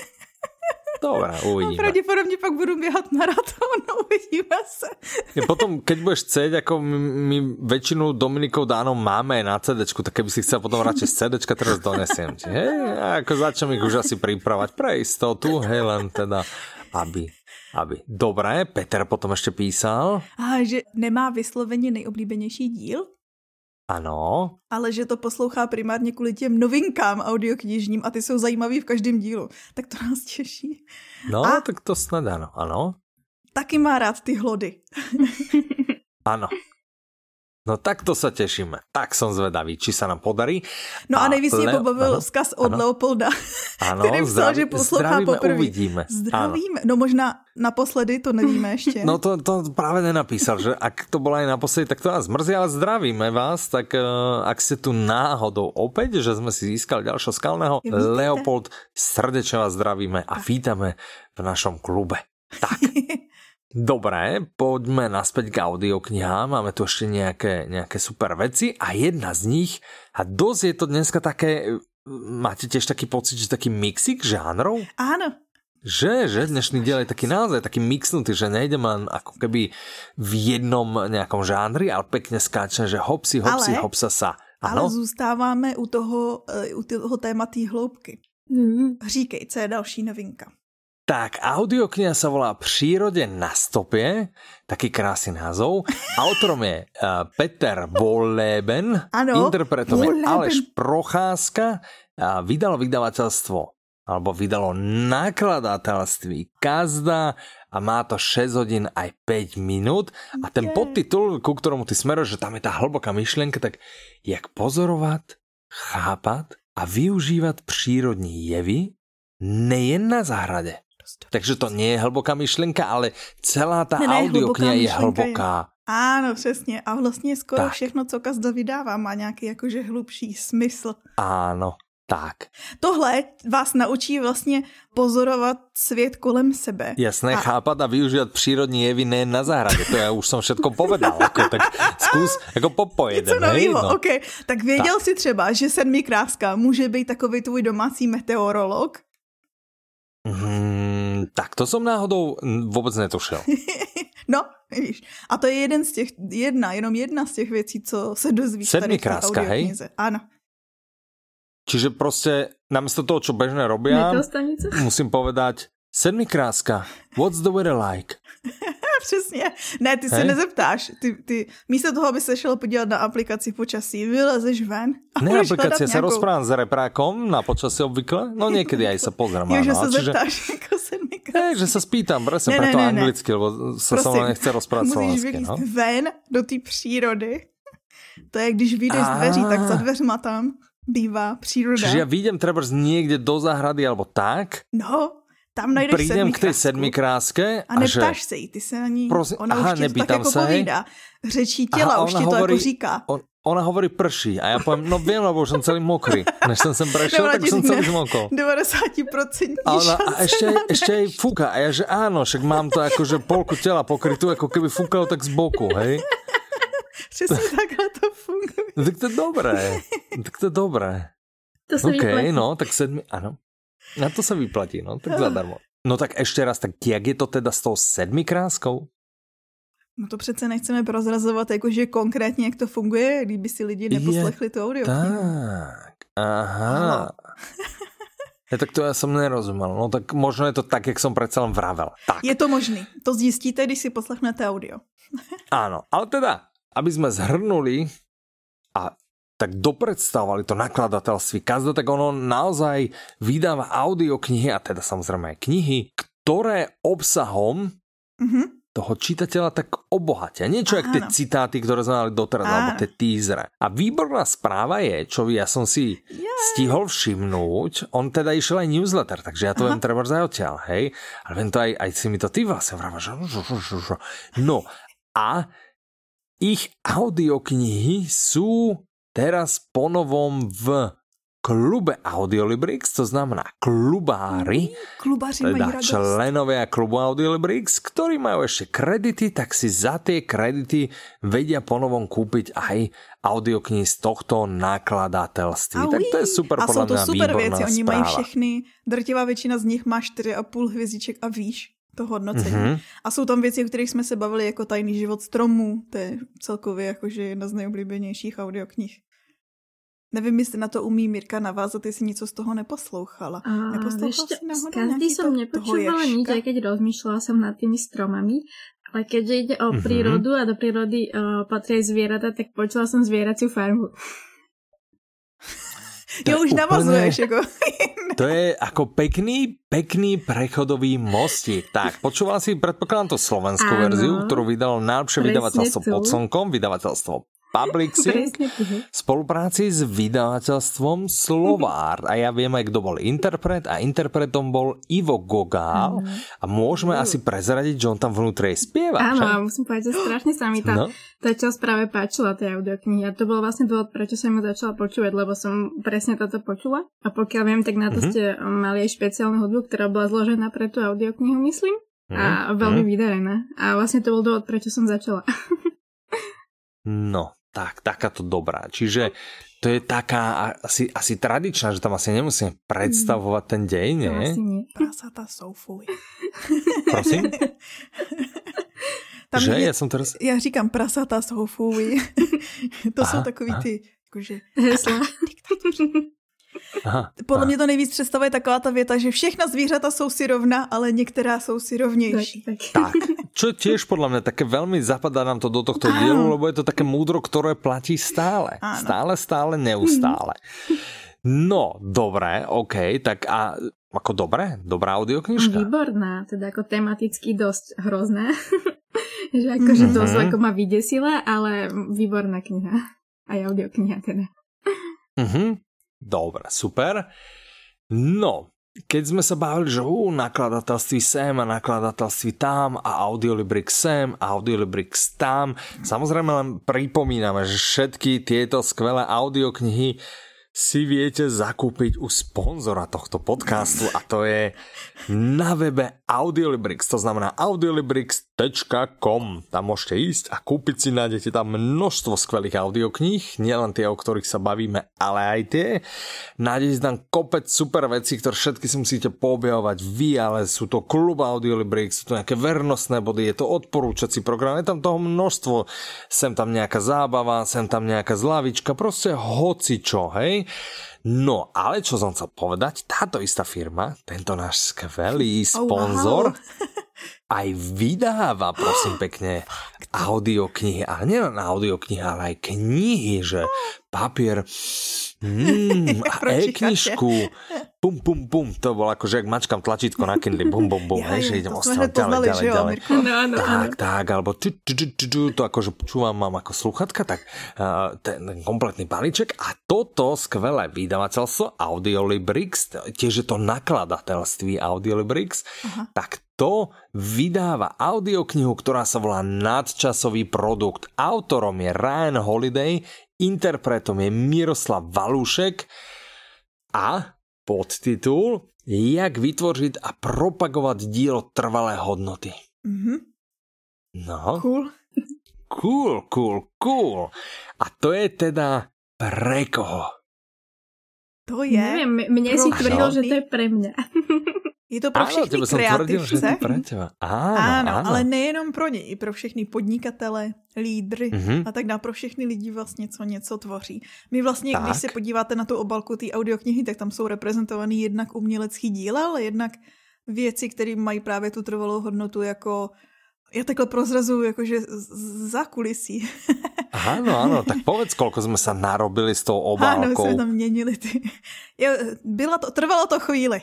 Dobre, uvidíme. No, pravděpodobně pak budu běhat maraton, uvidíme se. Ja potom, keď budeš chcieť, ako my, my väčšinu Dominikov Dánov máme na cé déčku, tak keby si chcel potom radšej z cé déčka, teraz donesiem ti. Hej, a ako začnem ich už asi pripravať pre istotu, hej, len teda, aby... aby. Dobré, Peter potom ešte písal. A že nemá vysloveně nejoblíbenější díl? Ano. Ale že to poslouchá primárně kvůli těm novinkám audioknižním a ty jsou zajímavý v každém dílu. Tak to nás těší. No, a tak to snad ano, ano. Taky má rád ty hlody. Ano. No tak to sa tešíme. Tak som zvedavý, či sa nám podarí. No a, a nejvíc mě Leo... pobavil ano, vzkaz od ano. Leopolda, ano, který psal, zdraví, že poslouchá poprvé. Uvidíme. Zdravíme. Ano. No možná naposledy, to nevíme ještě. No to, to práve nenapísal, že ak to bolo aj naposledy, tak to nás mrzí, ale zdravíme vás, tak uh, ak ste tu náhodou opäť, že sme si získali ďalšieho skalného, ja, Leopold, srdečne vás zdravíme a vítame v našom klube. Tak. Dobre, poďme naspäť k audioknihám. Máme tu ešte nejaké, nejaké super veci a jedna z nich, a dosť je to dneska také, máte tiež taký pocit, že taký mixik žánrov? Áno. Že, že dnešný diel je taký naozaj taký mixnutý, že nejdem len ako keby v jednom nejakom žánri, ale pekne skáčem, že hopsi, hopsi, ale, hopsa sa. Ano? Ale zůstáváme u toho, u toho tématý hloubky. Mm. Říkej, co je další novinka. Tak, audiokniha sa volá Přírode na stopě, taký krásny názov. Autorom je uh, Peter Wolleben, interpretom je Aleš Procházka, a vydalo vydavateľstvo, alebo vydalo nakladateľství Kazda a má to šesť hodín aj päť minút. A ten podtitul, ku ktorému ty smeruješ, že tam je tá hlboká myšlienka, tak jak pozorovať, chápať a využívať prírodní jevy nejen na záhrade. Takže to nie je hlboká myšlenka, ale celá ta audiokniha je hlboká. Áno, přesně. A vlastně skoro tak. Všechno, co Kazda vydává, má nějaký jakože hlubší smysl. Áno, tak. Tohle vás naučí vlastně pozorovat svět kolem sebe. Jasné, a... chápat a využívat přírodní jevy nejen na zahradě. To já už jsem všetko povedal. Jako, tak zkus jako popojedem. Něco novýho, okay. Tak věděl tak. si třeba, že sedmikráska může být takový tvůj domácí meteorolog? Hmm, tak to som náhodou vôbec netušil. No, vidíš. A to je jeden z těch, jedna, jenom jedna z těch věcí, co se dozvíš tady v té audioknize. Áno. Čiže proste namiesto toho, čo bežne robia, musím povedať sedmikráska, what's the weather like? Přesně. Ne, ty se hey? nezeptáš. Ty, ty místo toho, aby se šel podívat na aplikaci počasí, vylezeš ven a ne, aplikácia sa nějakou... rozprávam s reprákom na počasí obvykle, no niekedy aj sa pozriem. Jo, že sa čiže... zeptáš jako sedmikrát. Ne, že sa spýtam, presne ne, preto ne, ne, anglicky, lebo sa sa mnou nechce rozprávať slovensky. Musíš vylízt no? ven do té přírody. To je, když vyjdeš z dveří, tak za dveřma tam bývá příroda. Čiže ja vyjdem trebárs niekde do záhrady alebo tak. No, tam najdeš prídem k tej sedmikráske. A neptáš že... se jí, ty se na ní, Prosím, ona aha, už ti tak jako povídá. Řečí těla, aha, už ti to hovorí, jako říká. On, ona hovorí prší a ja poviem, no viem, lebo už som celý mokrý. Než som sem prešiel, tak som celý zmokol. deväťdesiat percent a ona, šance. A ešte, ešte aj fúka. A ja, že áno, však mám to akože polku tela pokrytú, ako keby fúkalo tak z boku, hej? Přesně takhle to funguje. No, tak to je dobré. Tak to je dobré. To sa okay, vyplatí. no, tak sedmi, áno. Na to sa vyplatí, no, tak zadarmo. No tak ešte raz, tak jak je to teda s tou sedmikráskou? No to přece nechceme prozrazovat, jakože konkrétně, jak to funguje, kdyby si lidi neposlechli to audio. Tak, aha. Ja, tak to ja som nerozumel. No tak možno je to tak, jak som predsa len vravel. Tak. Je to možný. To zjistíte, když si poslechnete audio. Áno, ale teda, aby sme zhrnuli a tak dopredstavovali to nakladateľství Kazda, tak ono naozaj vydáva audioknihy, a teda samozrejme aj knihy, ktoré obsahom mm-hmm. toho čitateľa tak obohatia. Niečo jak tie citáty, ktoré sme mali doteraz, alebo tie teasery. A výborná správa je, čo ja som si yeah. stihol všimnúť, on teda išiel aj newsletter, takže ja to viem treba aj odtiaľ, hej? Ale viem to aj, aj si mi to ty vlastne vraváš. No, a ich audioknihy sú teraz ponovom v klube Audiolibrix, to znamená klubári, Klubáři teda členovia klubu Audiolibrix, ktorí majú ešte kredity, tak si za tie kredity vedia ponovom kúpiť aj audioknihy z tohto nakladateľství. Tak to je super, a podľa mňa výborná správa. A sú to super věci, oni správa. mají všechny, drtivá většina z nich má čtyři a půl hvězdiček a výš to hodnocení. Mm-hmm. A jsou tam věci, o kterých jsme se bavili, jako Tajný život stromů, to je celkově jakože jedna z nejoblíbenějších audioknih. Nevím, jestli na to umí Mirka navázat, jestli něco z toho neposlouchala. A, Neposlouchal ešte, si náhodou každý som to, nepočúvala nič, aj keď rozmýšľala som nad tými stromami, ale keďže ide o mm-hmm. prírodu a do prírody uh, patrí aj zvieratá, tak počula som Zvieraciu farmu. Jo, už navazuješ, jako... To je ako pekný, pekný prechodový mostík. Tak, počúvala si, predpokladám to slovenskú Áno, verziu, ktorú vydalo najlepšie vydavateľstvo tu. Pod slnkom, vydavateľstvo Publixing v spolupráci s vydavateľstvom Slovár. A ja viem aj, kto bol interpret, a interpretom bol Ivo Gogál. Mm. A môžeme mm. asi prezradiť, že on tam vnútri spieva. Áno, a musím povedať, že strašne sa mi tá, no? tá časť práve páčila, tej audioknihy. A to bol vlastne dôvod, prečo som ju začala počúvať, lebo som presne toto počula. A pokiaľ viem, tak na to mm-hmm. ste mali aj špeciálnu hudbu, ktorá bola zložená pre tú audioknihu, myslím. Mm. A veľmi mm. vydarená. A vlastne to bol dôvod, prečo som začala. No. Tak, takáto dobrá. Čiže to je taká asi, asi tradičná, že tam asi nemusíme predstavovať ten dej, nie? No, asi nie. Prasata sú fuj. Prosím? Tam že? Je, ja som teraz... Ja říkam prasata sú fuj. To aha, sú takový aha. ty, akože... Hesla. Aha, Podle aha. mě to nejvíc představuje taková ta věta, že všechna zvířata jsou si rovna, ale některá jsou si rovnější. Tak, tak. Čo tiež podľa mňa také veľmi zapadá nám to do tohto áno. dielu, lebo je to také múdro, ktoré platí stále. Áno. Stále, stále, neustále. No, dobré, okej, okay, tak a ako dobré? Dobrá audioknižka? Výborná, teda ako tematicky dosť hrozná. Že akože mm-hmm. dosť ako ma vydesila, ale výborná kniha. Aj audiokniha teda. Mhm. Dobre, super. No, keď sme sa bavili, že uh, nakladateľství sem a nakladateľství tam a Audiolibrix sem a Audiolibrix tam, samozrejme len pripomíname, že všetky tieto skvelé audioknihy si viete zakúpiť u sponzora tohto podcastu a to je na webe Audiolibrix, to znamená audiolibrix bodka com. Tam môžete ísť a kúpiť si, nájdete tam množstvo skvelých audiokníh, nielen tie, o ktorých sa bavíme, ale aj tie. Nájdete tam kopec super vecí, ktoré všetky si musíte poobjavovať vy, ale sú to klub Audiolibrix, sú to nejaké vernostné body, je to odporúčací program, je tam toho množstvo, sem tam nejaká zábava, sem tam nejaká zľavička, proste hocičo, hej. No, ale čo som chcel povedať, táto istá firma, tento náš skvelý sponzor, oh, wow. aj vydáva, prosím pekne, audioknihy. Ale nie len audioknihy, ale aj knihy, že papier mm, a e-knižku. Pum, pum, pum. To bolo ako, že ak mačkam tlačítko na Kindle. Bum, bum, bum. Ja, hej, že je, idem to ostať ďalej, ďalej, ďalej. No, áno, tak, áno. tak, alebo tu, tu, tu, tu, tu, to akože počúvam, mám ako sluchatka, tak uh, ten, ten kompletný balíček. A toto skvelé vydavateľstvo Audiolibrix, tiež je to nakladateľství Audiolibrix, aha, tak to vydáva audioknihu, ktorá sa volá Nadčasový produkt. Autorom je Ryan Holiday, interpretom je Miroslav Valúšek a podtitul Jak vytvořit a propagovať dielo trvalé hodnoty. Mm-hmm. No. Cool. Cool, cool, cool. A to je teda pre koho? To je... Neviem, mne si tvrdil, že to je pre mňa. Je to pro všechny áno, kreativce. Tvrdil, pre teba. Áno, áno, áno, ale nejenom pro ně, i pro všechny podnikatele, lídry mm-hmm. a tak dále, pro všechny lidi vlastně, co něco tvoří. My vlastně, tak. Když se podíváte na tu obalku té audioknihy, tak tam jsou reprezentovaný jednak umělecký díla, ale jednak věci, které mají právě tu trvalou hodnotu jako, já takhle prozrazuju, jakože za kulisí. Áno, áno, tak povedz, koľko sme sa narobili s tou obálkou. Áno, sme tam měnili ty. Byla to, trvalo to chvíli.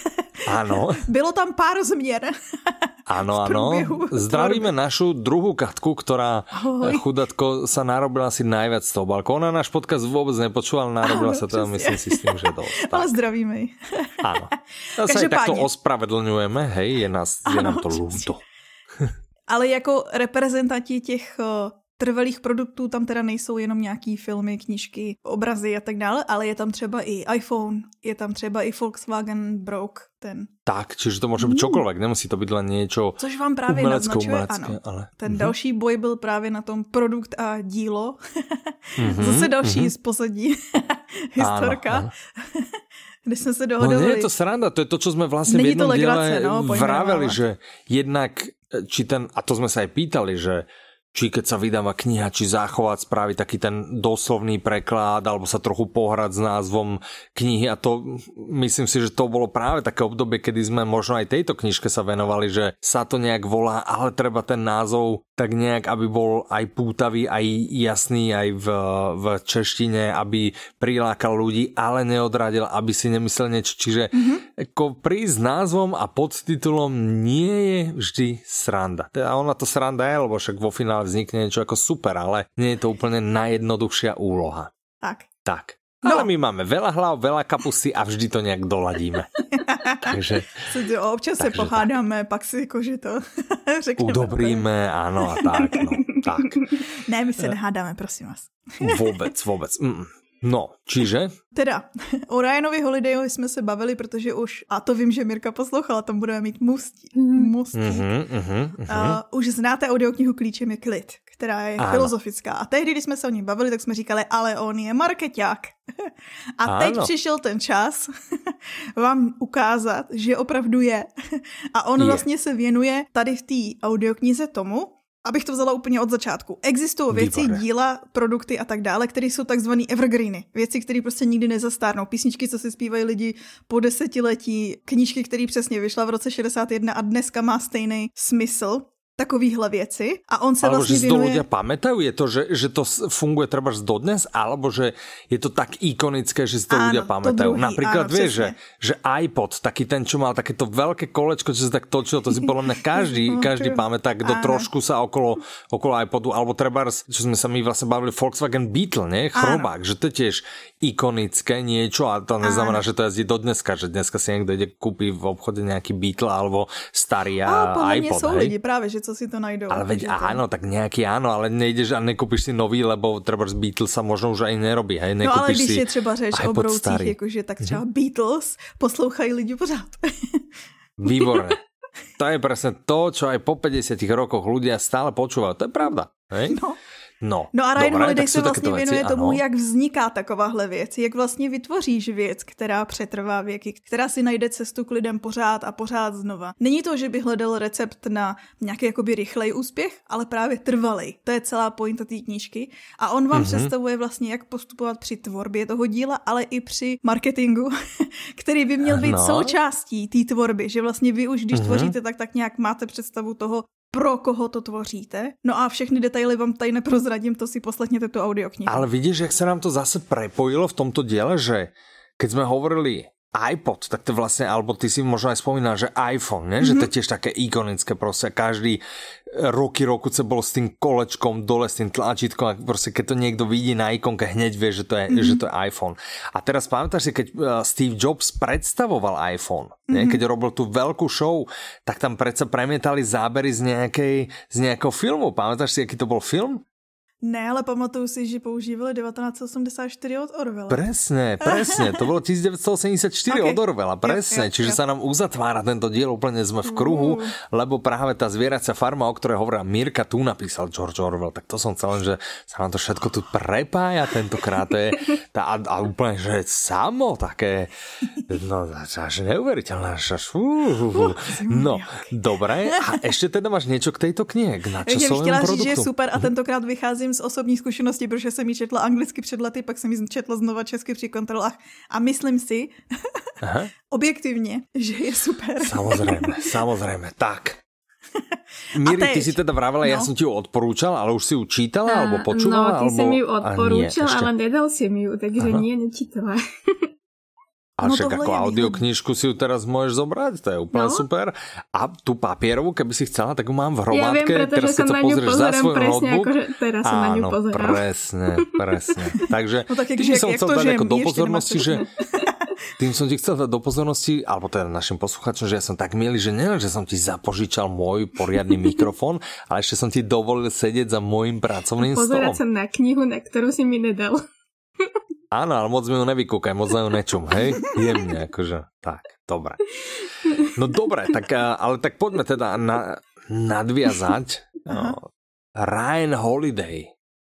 Áno. Bylo tam pár změn. Áno, áno. Zdravíme našu druhú Katku, ktorá Ahoj. chudatko sa narobila asi najviac s tou obálkou. Ona náš podcast vôbec nepočúvala, narobila áno, sa teda, myslím si s tým, že dosť. Ale zdravíme jej. Áno. Ja sa aj takto ospravedlňujeme, hej, je, nás, je nám to ľúto. Ale jako reprezentanti těch trvalých produktů tam teda nejsou jenom nějaký filmy, knížky, obrazy a tak dále, ale je tam třeba i iPhone, je tam třeba i Volkswagen Brouk, ten. Tak, čiže to může být čokoľvek, nemusí to být len niečo což vám právě naznačuje, umelecké, ano. Ale... Ten mm-hmm. další boj byl právě na tom produkt a dílo. Mm-hmm, Zase další mm-hmm. z pozadí historka. Áno, áno. Kde jsme se dohodovali. No nie je to sranda, to je to, čo sme vlastne Není v jednom diele no, vraveli, že jednak, či ten, a to sme sa aj pýtali, že či keď sa vydáva kniha, či zachovať, spraviť taký ten doslovný preklad, alebo sa trochu pohrať s názvom knihy. A to, myslím si, že to bolo práve také obdobie, kedy sme možno aj tejto knižke sa venovali, že sa to nejak volá, ale treba ten názov tak nejak, aby bol aj pútavý, aj jasný, aj v, v češtine, aby prilákal ľudí, ale neodradil, aby si nemyslel niečo. Čiže mm-hmm. ako prísť s názvom a podtitulom nie je vždy sranda. Teda ona to sranda je, lebo však vo finále vznikne niečo ako super, ale nie je to úplne najjednoduchšia úloha. Tak. Tak. No. Ale my máme veľa hlav, veľa kapusy a vždy to nejak doladíme. Takže, občas se pohádáme, tak. Pak si jakože to řekneme. Udobríme, áno a tak. No, tak. Ne, my se nehádáme, prosím vás. Vôbec, vôbec. Mm. No, čiže? Teda, o Ryanovi Holidayovi jsme se bavili, protože už, a to vím, že Mirka poslouchala, tam budeme mít mustí. mustí. Mm-hmm, mm-hmm. Uh, už znáte audioknihu Klíčem je klid, která je ano. filozofická. A tehdy, když jsme se o ní bavili, tak jsme říkali, ale on je markeťák. A ano. Teď přišel ten čas vám ukázat, že opravdu je. A on je. Vlastně se věnuje tady v té audioknize tomu, abych to vzala úplně od začátku. Existují věci, Výborné. díla, produkty a tak dále, které jsou takzvaný evergreeny. Věci, které prostě nikdy nezastárnou. Písničky, co si zpívají lidi po desetiletí, knížky, které přesně vyšla v roce šedesát jedna a dneska má stejný smysl. Takovýhle věci a on se alebo vlastně že si věnuje... to ľudia pamätajú? Je to, že, že to funguje trebárs dodnes? Alebo že je to tak ikonické, že si to áno, ľudia pamätajú? To druhý, napríklad áno, vieš, že, že iPod, taký ten, čo mal takéto veľké kolečko, čo sa tak točilo, to si podľa mňa každý, každý pamätá, kto trošku sa okolo, okolo iPodu, alebo trebárs, čo sme sa my vlastne bavili, Volkswagen Beetle, nie? Chrobák, áno. Že to je tiež ikonické niečo a to neznamená, áno. Že to jazdí do dneska, že dneska si niekto ide kúpi v obchode nejaký Beetle alebo starý a iPod, sú lidi práve, že co si to najdou. Ale veď áno, tak nejaký áno, ale nejdeš a nekúpiš si nový, lebo treba z Beatles sa možno už aj nerobí. Hej? No ale když je třeba řeč o broucích, jakože tak třeba Beatles poslouchají lidi pořád. Výborné. To je presne to, čo aj po päťdesiatich rokoch ľudia stále počúvajú. To je pravda. Hej? No. No, no a Ryan dobré, Holiday se vlastně věci, věnuje tomu, ano. jak vzniká takováhle věc, jak vlastně vytvoříš věc, která přetrvá věky, která si najde cestu k lidem pořád a pořád znova. Není to, že by hledal recept na nějaký jakoby rychlej úspěch, ale právě trvalej. To je celá pointa té knížky. A on vám mm-hmm. představuje vlastně, jak postupovat při tvorbě toho díla, ale i při marketingu, který by měl být no. součástí té tvorby, že vlastně vy už, když mm-hmm. tvoříte, tak tak nějak máte představu toho, pro koho to tvoříte. No a všechny detaily vám tady neprozradím, to si poslechněte tu audioknihu. Ale vidíš, jak sa nám to zase prepojilo v tomto diele, že keď sme hovorili iPod, tak to vlastne, alebo ty si možno aj spomínal, že iPhone, ne? Mm-hmm. Že to je tiež také ikonické, proste každý roky, roku sa bol s tým kolečkom dole, s tým tlačítkom a proste keď to niekto vidí na ikonke, hneď vie, že to je, mm-hmm. že to je iPhone. A teraz pamätáš si, keď Steve Jobs predstavoval iPhone, ne? Mm-hmm. Keď robil tú veľkú show, tak tam predsa premietali zábery z, nejakej, z nejakého filmu. Pamätáš si, aký to bol film? Ne, ale pamatuju si, že používali devätnásť osemdesiatštyri od Orwella. Presne, presne. To bolo devätnásť osemdesiatštyri okay. od Orwella. Presne. Yep, yep, Čiže yep. sa nám uzatvára tento diel, úplne sme v kruhu, uh. lebo práve tá zvieracia farma, o ktorej hovorila Mirka, tu napísal George Orwell. Tak to som chcel, že sa nám to všetko tu prepája tentokrát. To je tá, a, a úplne, že samo také, no až neuveriteľné. Až, uh, uh, no, dobre. A ešte teda máš niečo k tejto knihe, k načasovému produktu. Říct, že je super a tentokrát vycházím z osobní zkušenosti, protože jsem ji četla anglicky před lety, pak jsem ji četla znova česky při kontrolách a myslím si Aha. objektivně, že je super. Samozrejme, samozrejme. Tak. Miri, ty si teda vravela, no. ja som ti ju odporúčal, ale už si ju čítala, a, alebo počúvala? No, ty alebo... si mi ju odporúčal, nie, ale nedal si mi ju, takže Aha. nie, nečítala. A no však ako audioknižku si ju teraz môžeš zobrať, to je úplne no. super. A tú papierovú, keby si chcela, tak ju mám v hromádke. Ja viem, pretože sa na ňu pozerám presne, akože teraz sa na ňu pozerám. Áno, presne, presne. Takže no tak, tým že, som chcel dať ako do pozornosti, že... Tým som ti chcel dať do pozornosti, alebo teda našim poslucháčom, že ja som tak milý, že nielen, že som ti zapožičal môj poriadny mikrofón, ale ešte som ti dovolil sedieť za môjim pracovným stolom. Pozerať sa na knihu, na ktorú si mi nedal. Áno, ale moc mi ju nevykúkaj, moc na ju nečum, hej? Jemne, akože, tak, dobre. No dobre, tak, ale tak poďme teda na, nadviazať. No, Ryan Holiday.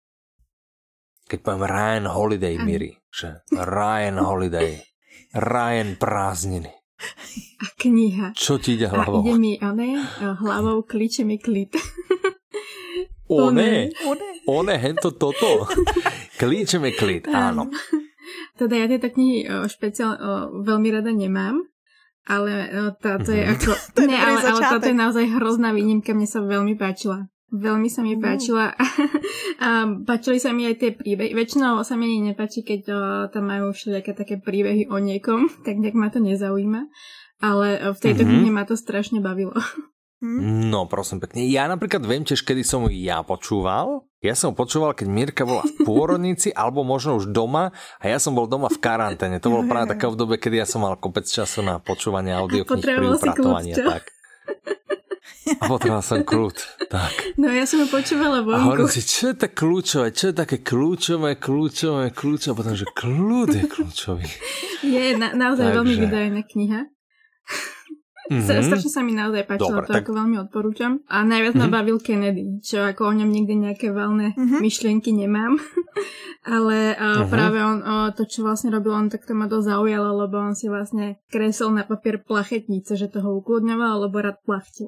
Keď poviem Ryan Holiday, Miri, že Ryan Holiday, Ryan prázdniny. A kniha. Čo ti ide hlavou? A ide mi, one, hlavou klíče mi klít. One, one, one, hento toto. Klíče mi klid, áno. Teda ja tieto knihy špeciálne veľmi rada nemám, ale táto je ako... to ne, ale, ale táto je naozaj hrozná výnimka, mne sa veľmi páčila. Veľmi sa mi páčila. A páčili sa mi aj tie príbehy. Väčšinou sa mi nepáči, keď o, tam majú všelijaké také príbehy o niekom, tak nejak ma to nezaujíma. Ale v tejto mm-hmm. knihe ma to strašne bavilo. No, prosím pekne. Ja napríklad viem tiež, kedy som ju ja počúval. Ja som počúval, keď Mirka bola v pôrodnici, alebo možno už doma, a ja som bol doma v karanténe. To bolo práve také obdobie, kedy ja som mal kopec času na počúvanie audiokníh pri upratovaní. Tak. A potreboval som kľud. Tak. No ja som ju počúvala vonku. A hovorím si, čo je tak kľúčové? Čo je také kľúčové, kľúčové, kľúčové? A potom, že kľud je kľúčový. Je na, naozaj Takže... veľmi vydajná kniha. Mm-hmm. Strašne sa mi naozaj páčilo, to tak... ako veľmi odporúčam. A najviac mm-hmm. ma bavil Kennedy, čo ako o ňom nikdy nejaké veľné mm-hmm. myšlienky nemám. Ale uh, mm-hmm. práve on, uh, to, čo vlastne robil on, tak to ma dosť zaujalo, lebo on si vlastne kreslil na papier plachetnice, že toho ukludňoval, lebo rád plachtil.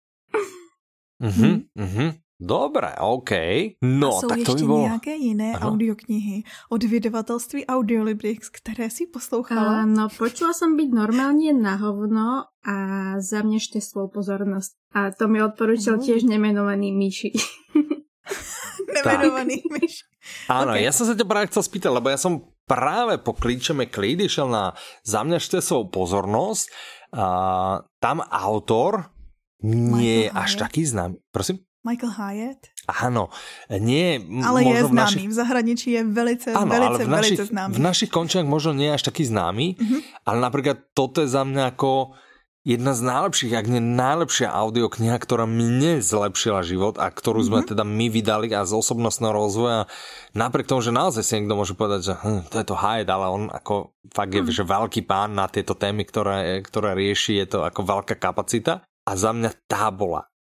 Mhm, mhm. Dobre, OK. No, a tak to by bolo... jsou ještě nějaké jiné ano. audioknihy od vydavatelství Audiolibrix, které si poslouchala? No, počula som byť normálne na hovno a za mne šte svou pozornosť. A to mi odporúčal uh. tiež nemenovaný Myši. Nemenovaný Myši. Áno, okay. Ja som sa ťa práve chcel spýtať, lebo ja som práve po Klíčeme klid išiel na za mňa šte svou pozornosť. A tam autor nie je až taký známy. Prosím? Michael Hyatt? Áno, nie... Ale je známy, v, našich... v zahraničí je velice, áno, velice, v našich, velice známy. V našich končiach možno nie je až taký známy, uh-huh. ale napríklad toto je za mňa ako jedna z najlepších, ak nie najlepšia audiokniha, ktorá mne zlepšila život a ktorú sme uh-huh. teda my vydali a z osobnostného rozvoja. Napriek tomu, že naozaj si niekto môže povedať, že hm, to je to Hyatt, ale on ako fakt je uh-huh. že veľký pán na tieto témy, ktoré, ktoré rieši, je to ako veľká kapacita. A za mňa tá bola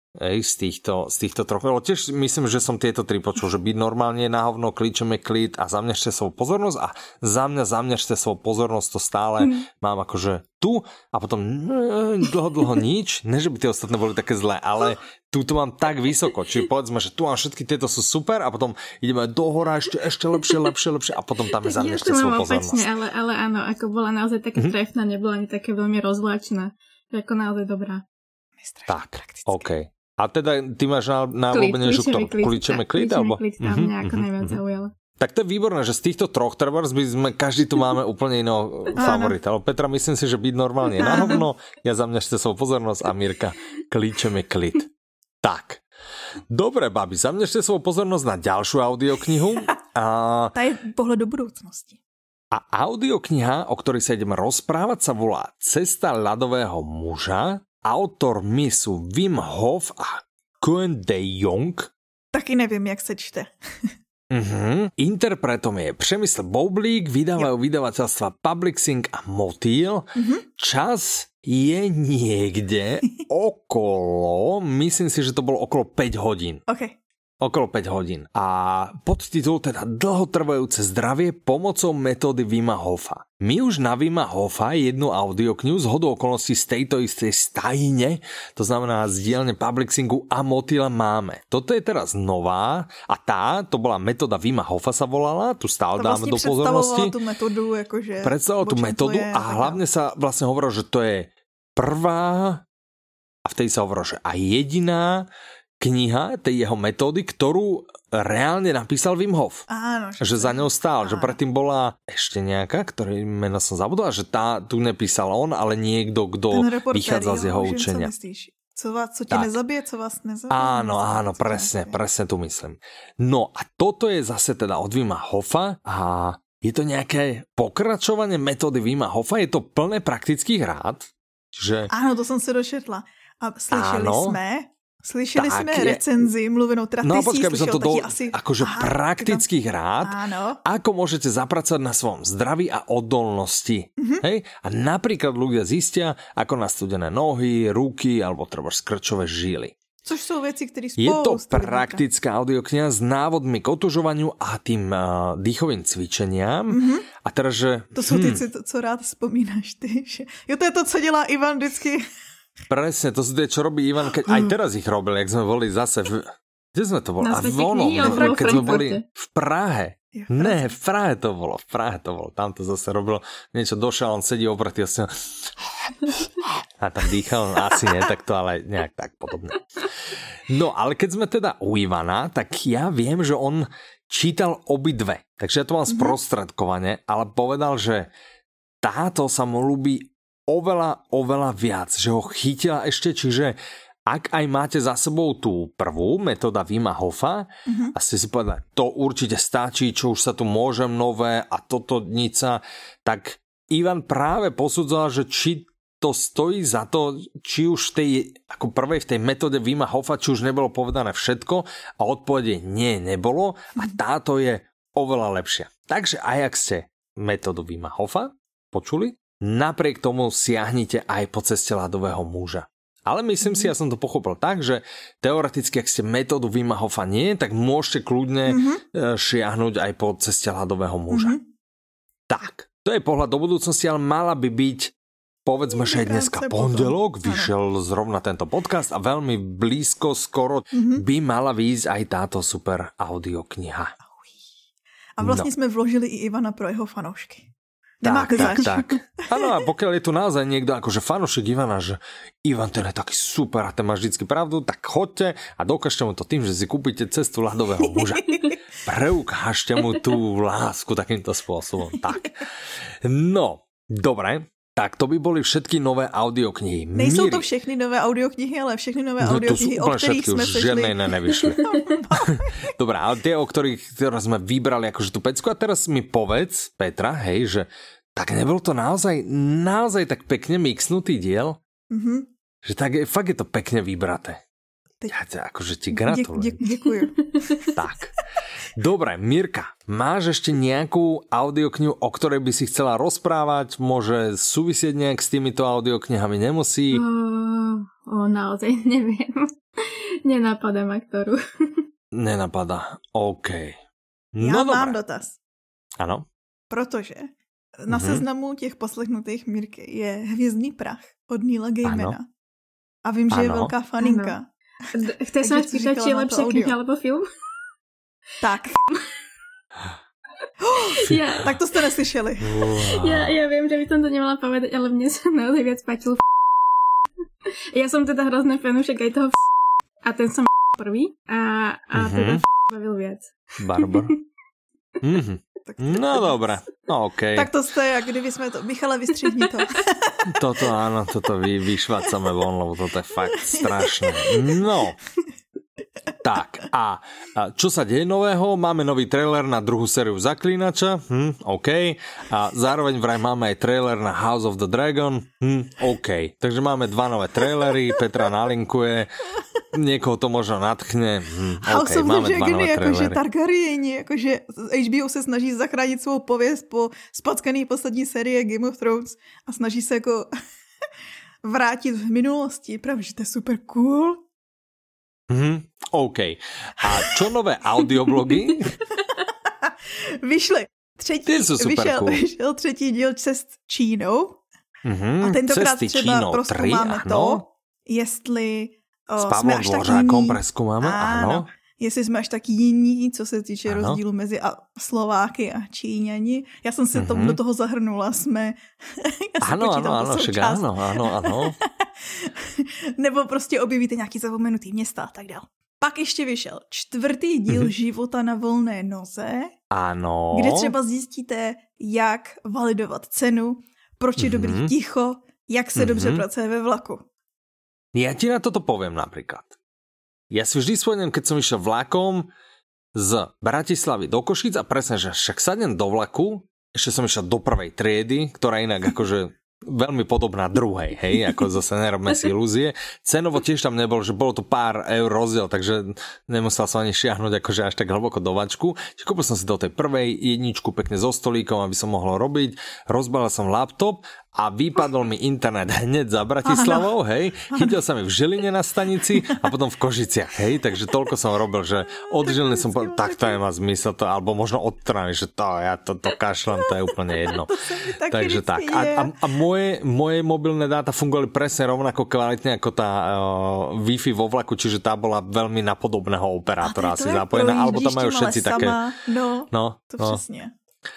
Ej, z týchto, z týchto troch. Tiež myslím, že som tieto tri počul, že byť normálne na hovno, klíčeme klid a zamnežte svoju pozornosť a za mňa zamnežte svoju pozornosť, to stále mm. mám akože tu a potom dlho, dlho nič. Ne, že by tie ostatné boli také zlé, ale tu to mám tak vysoko. Čiže povedzme, že tu mám všetky tieto sú super a potom ideme dohora ešte, ešte lepšie, lepšie, lepšie a potom tam je zamnežte svoju pozornosť. Opačne, ale, ale áno, ako bola naozaj taká mm-hmm. trefná, nebola ani také veľmi rozvláčna. Ako naozaj dobrá. Tak, okej. Okay. A teda ty máš na, na obľúbenejšiu ktorú? Klíčeme klid? Klíčeme klid, tam mňa ako najviac zaujalo. Tak to je výborné, že z týchto troch trebárs by sme, každý tu máme úplne iného favorita. Ale Petra, myslím si, že byť normálne na hovno, ja zamňažte svoju pozornosť a Mirka, klíčeme klid. Tak. Dobre, babi, zamňažte svoju pozornosť na ďalšiu audioknihu. A... Tá je pohľad do budúcnosti. A audiokniha, o ktorej sa ideme rozprávať, sa volá Cesta ľadového muža. Autor my sú Wim Hof a Koen de Jong. Taky nevím, jak se čte. Uh-huh. Interpretom je Přemysl Boublík, vydávajú yep. vydavateľstva Publixing a Motýl. Uh-huh. Čas je niekde okolo, myslím si, že to bolo okolo päť hodín. OK. Okolo päť hodín. A podtitul teda Dlhotrvajúce zdravie pomocou metódy Wima Hofa. My už na Wima Hofa jednu audioknihu z hodou okolností z tejto istej stajne, to znamená z dielne Publixingu a Motýla máme. Toto je teraz nová a tá, to bola metóda Wima Hofa sa volala, tu stále dáme do pozornosti. Tú metódu, akože... Predstavovala tú metódu je, a hlavne sa vlastne hovorilo, že to je prvá a vtedy sa hovorilo, že aj jediná kniha tej jeho metódy, ktorú reálne napísal Wim Hof. Áno. Že za ňou stál, áno. Že predtým bola ešte nejaká, ktorej meno som zabudol, že tá tu nepísal on, ale niekto, kto vychádza z jeho učenia. Co, vás, co ti tak. nezabije, co vás nezabije. Áno, áno, presne, presne tu myslím. No a toto je zase teda od Wima Hofa a je to nejaké pokračovanie metódy Wima Hofa, je to plné praktických rád. Že... Áno, to som si došetla. A slyšeli áno. sme... Slyšeli tak jsme je... recenzi, mluvenou teda no, ty si počkaj, slyšel, to do, asi... akože aha, praktických teda... rád, áno. ako môžete zapracovať na svojom zdraví a odolnosti. Mm-hmm. Hej? A napríklad ľudia zistia, ako na studené nohy, ruky alebo treba skrčové žily. Což sú veci, ktoré spolu... Je to praktická audiokniha s návodmi k otužovaniu a tým uh, dýchovým cvičeniam. Mm-hmm. A teraz, že... To sú hm. ty, co rád vzpomínaš ty. Že... Jo, to je to, co dělá Ivan vždycky... Presne, to sú tie, čo robí Ivan, keď aj teraz ich robil, jak sme boli zase v... Kde sme to boli? A v Vonom, keď sme boli v Prahe. Ja, ne, v Prahe to bolo, v Prahe to bolo. Tam to zase robilo niečo, došiel, on sedí opratý a, a tam dýchal, asi nie takto, ale nejak tak podobne. No, ale keď sme teda u Ivana, tak ja viem, že on čítal obidve. Takže ja to mám mm-hmm. sprostredkovane, ale povedal, že táto sa mu ľúbi oveľa, oveľa viac, že ho chytila ešte, čiže ak aj máte za sebou tú prvú metóda Wima Hofa uh-huh. a ste si povedali, to určite stačí, čo už sa tu môžem nové a toto dnica, tak Ivan práve posudzoval, že či to stojí za to, či už v tej, ako prvej v tej metóde Wima Hofa, či už nebolo povedané všetko a odpovede nie, nebolo a táto je oveľa lepšia. Takže aj ak ste metódu Wima Hofa počuli, napriek tomu siahnite aj po ceste ľadového muža. Ale myslím si, ja som to pochopil tak, že teoreticky, ak ste metódu Wima Hofa nie, tak môžete kľudne mm-hmm. šiahnuť aj po ceste ľadového muža. Mm-hmm. Tak, to je pohľad do budúcnosti, ale mala by byť, povedzme, že aj dneska pondelok, vyšiel zrovna tento podcast a veľmi blízko, skoro mm-hmm. by mala výjsť aj táto super audiokniha. A vlastne no. sme vložili i Ivana pro jeho fanoušky. Tak, tak, tak. Áno, a pokiaľ je tu naozaj niekto akože fanúšik Ivana, že Ivan ten je taký super a ten má vždycky pravdu, tak choďte a dokážte mu to tým, že si kúpite cestu ľadového muža. Preukážte mu tú lásku takýmto spôsobom. Tak. No, dobre. Tak to by boli všetky nové audioknihy. Nejsou to všechny nové audioknihy, ale všechny nové no, audioknihy, o ktorých sme sešli. Žiadne iné nevyšli. Dobre, ale tie, o ktorých teraz sme vybrali akože tú pecku a teraz mi povedz, Petra, hej, že tak nebol to naozaj, naozaj tak pekne mixnutý diel, mm-hmm. že tak je, fakt je to pekne vybraté. Ja ťa akože ti gratulujem. Ďakujem. Tak. Dobre, Mirka, máš ešte nejakú audioknihu, o ktorej by si chcela rozprávať? Môže súvisieť nejak s týmito audioknihami? Nemusí? O, o naozaj neviem. Nenapadá ma ktorú. Nenapadá, OK. No Já mám dobré. dotaz. Ano. Protože na mm-hmm. seznamu těch poslechnutých Mirky je Hvězdný prach od Neila Gaimana. Ano. A vím, že ano. je velká faninka. D- Chce sa spýtať, či je lepšia kniha alebo film? Tak. ja, tak to jste neslyšeli. Wow. Ja, ja viem, že by som to nemala povedať, ale mne sa naozaj viac páčil Ja som teda hrozný fanúšek aj toho a ten som prvý a, a mm-hmm. teda bavil viac. Barbar. Mm-hmm. No dobré, no okej. Okay. Tak to jste, jak kdyby jsme to... Michale, vystřihni to. Toto áno, toto vy, vyšvácame von, lebo toto je fakt strašné. No, tak a, a čo sa deje nového? Máme nový trailer na druhú sériu Zaklínača, hm, OK. A zároveň vraj máme aj trailer na House of the Dragon, hm, OK. Takže máme dva nové trailery, Petra nalinkuje, niekoho to možno natchne, hm, OK, House of máme the dva Dragon nové je trailery. jakože Targaryeni, jakože H B O se snaží zachránit svou pověst po spackaný poslední série Game of Thrones a snaží se jako vrátit v minulosti, pravda, že to je super cool. Mhm, OK. A čo nové audioblogy? Vyšly. Třetí, vyšel, cool. vyšel třetí díl Cest Čínou. Mm-hmm, a tentokrát Cesty třeba Čínou prozkoumáme tri, to, jestli o, s jsme až tak Dvořákom jiní. preskúmame, áno. Jestli jsme až tak jiní, co se týče ano. rozdílu mezi a Slováky a Číňani. Já jsem se mm-hmm. to, do toho zahrnula, jsme... Ano, ano, ano, však ano, ano, ano. Nebo prostě objevíte nějaký zapomenutý města a tak dál. Pak ještě vyšel čtvrtý díl mm-hmm. Života na volné noze. Ano. Kde třeba zjistíte, jak validovat cenu, proč je mm-hmm. dobrý ticho, jak se mm-hmm. dobře pracuje ve vlaku. Ja ti na toto poviem napríklad. Ja si vždy spomínam, keď som išiel vlakom z Bratislavy do Košíc a presne, že však sadnem do vlaku, ešte som išiel do prvej triedy, ktorá inak akože veľmi podobná druhej, hej, ako zase nerobme si ilúzie. Cenovo tiež tam nebol, že bolo to pár eur rozdiel, takže nemusel som ani šiahnuť akože až tak hlboko do vačku. Čiže kúpil som si do tej prvej jedničku pekne so stolíkom, aby som mohol robiť. Rozbalil som laptop a vypadol mi internet hneď za Bratislavou, hej. Chytil sa mi v Žiline na stanici a potom v Košiciach, hej. Takže toľko som robil, že od Žiliny som povedal, tak to nemá zmysel, to, alebo možno od Trnavy, že to, ja to, to kašlem, to je úplne jedno. Takže tak. A, a, a moje, moje mobilné dáta fungovali presne rovnako kvalitne ako tá uh, Wi-Fi vo vlaku, čiže tá bola veľmi na podobného operátora asi zapojená, alebo tam majú všetci také. No, no, to no. přesně.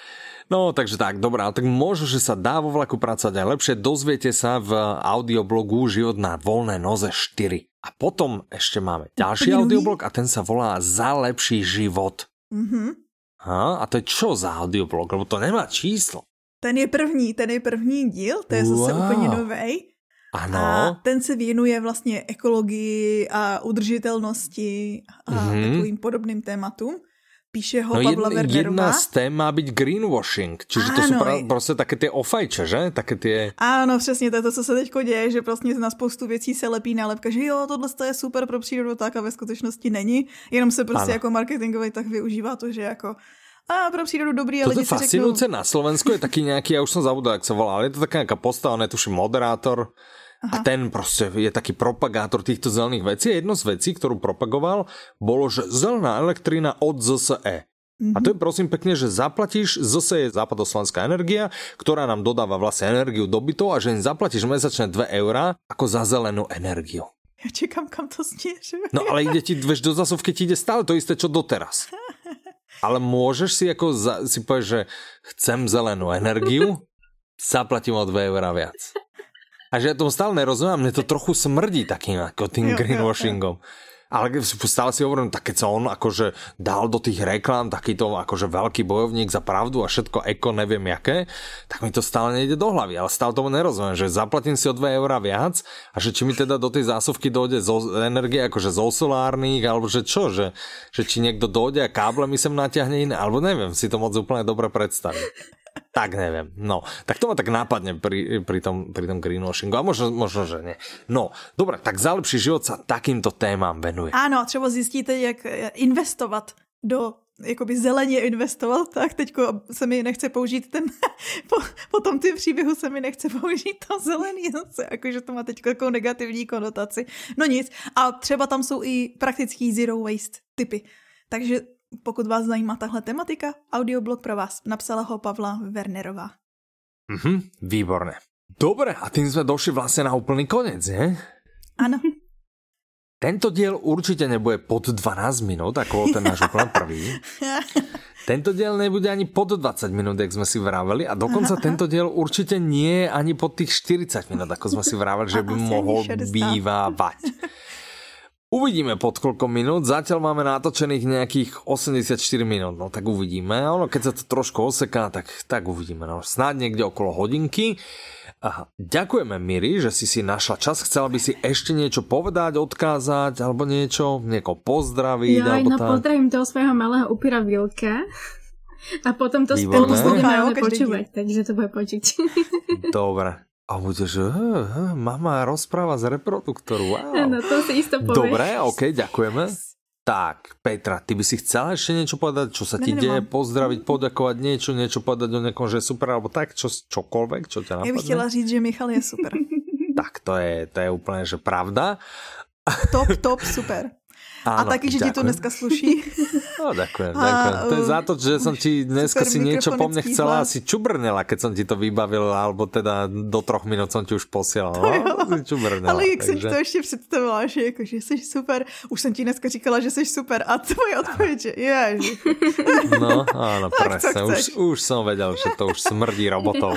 No, takže tak, dobrá, tak možno, že sa dá vo vlaku pracovať aj lepšie. Dozviete sa v audioblogu Život na voľné noze štyri. A potom ešte máme ďalší audioblog a ten sa volá Za lepší život. Mm-hmm. Ha, a to je čo za audioblog? Lebo to nemá číslo. Ten je první, ten je první díl, to je wow. zase úplně novej. Ano. A ten se věnuje vlastně ekologii a udržitelnosti a mm-hmm. takovým podobným tématům. Píše ho no Pavla jedna, Wernerová. Jedna z tém má byť greenwashing, čiže áno, to sú pra, proste také tie ofajče, že? Také tie... Áno, přesně, to je to, co se teďko děje, že prostě na spoustu věcí se lepí nálepka, že jo, tohle je super pro přírodu, tak a ve skutečnosti není, jenom se prostě ano. jako marketingový tak využívá to, že jako a pro přírodu dobrý, ale lidi si řeknou... Toto fascinujúce na Slovensku je taký nejaký, ja už som zabudol, jak sa volá, ale je to taká nejaká postava, on je tuším moderátor. Aha. A ten proste je taký propagátor týchto zelených vecí. A jedno z vecí, ktorú propagoval, bolo, že zelená elektrina od zet es é. Mm-hmm. A to je prosím pekne, že zaplatíš, zet es é je Západoslovenská energia, ktorá nám dodáva vlastne energiu do bytov a že im zaplatíš mesačne dve eurá ako za zelenú energiu. Ja čekám, kam to snieš. No ale ide ti, veš, do zásuvky ti ide stále to isté, čo doteraz. Ale môžeš si ako, za, si povieš, že chcem zelenú energiu, zaplatím o dve eurá viac. A že ja tomu stále nerozumiem, mne to trochu smrdí takým ako tým greenwashingom. Ale stále si hovorím, tak keď sa on akože dal do tých reklám, takýto akože veľký bojovník za pravdu a všetko eko, neviem jaké, tak mi to stále nejde do hlavy. Ale stále tomu nerozumiem, že zaplatím si o dve eurá viac a že či mi teda do tej zásuvky dojde zo energie akože zo solárnych, alebo že čo, že, že či niekto dojde a káble mi sem natiahne iné, alebo neviem si to moc úplne dobre predstaviť. Tak neviem, no. Tak to ma tak nápadne pri, pri, tom, pri tom greenwashingu. A možno, možno, že nie. No, dobre, tak Za lepší život sa takýmto témám venuje. Áno, třeba zjistíte, jak investovat do jakoby zeleně investoval, tak teďko se mi nechce použít ten, po, po tom tým příběhu se mi nechce použít to zelený zase, jakože to má teďko takovou negativní konotaci. No nic. A třeba tam jsou i praktický zero waste typy. Takže pokud vás zajímá tahle tematika, audioblog pro vás. Napsala ho Pavla Wernerová. Mhm, výborné. Dobre, a tým sme došli vlastne na úplný koniec, nie? Áno. Tento diel určite nebude pod dvanásť minút, ako bol ten náš úplne prvý. Tento diel nebude ani pod dvadsať minút, jak sme si vraveli, a dokonca aha, tento diel určite nie ani pod tých štyridsať minút, ako sme si vraveli, že by mohol bývať. Uvidíme pod koľko minút, zatiaľ máme natočených nejakých osemdesiatštyri minút, no tak uvidíme. Ono, keď sa to trošku oseká, tak, tak uvidíme, no snáď niekde okolo hodinky. Aha. Ďakujeme, Miri, že si si našla čas. Chcela by si ešte niečo povedať, odkázať, alebo niečo, niekoho pozdraviť? Jo, alebo no tak. Pozdravím toho svojho malého upíra Vilka. A potom to spolu budeme počúvať, takže to bude počuť. Dobre. A bude, že uh, uh, mama rozpráva z reproduktoru. Wow. No to si isto povieš. Dobre, ok, ďakujeme. Tak, Petra, ty by si chcela ešte niečo povedať, čo sa ti ne, deje, pozdraviť, poďakovať niečo, niečo povedať o niekom, že je super, alebo tak, čo, čokoľvek, čo ťa napadne? Ja bych chtěla říct, že Michal je super. Tak, to je, to je úplne, že pravda. Top, top, super. Áno, a taky, že ďakujem. Ti to dneska sluší. No, ďakujem, ďakujem. To je za to, že som ti dneska si niečo po mne chcela, asi čubrnela, keď som ti to vybavil, alebo teda do troch minút som ti už posielal. No, čubrnela. Ale jak takže... jsem ti to ještě představila, že, jako, že jsi super. Už jsem ti dneska říkala, že jsi super. A tvoje odpověď, že ježi. No, áno, presne. Už, už som vedel, že to už smrdí robotov.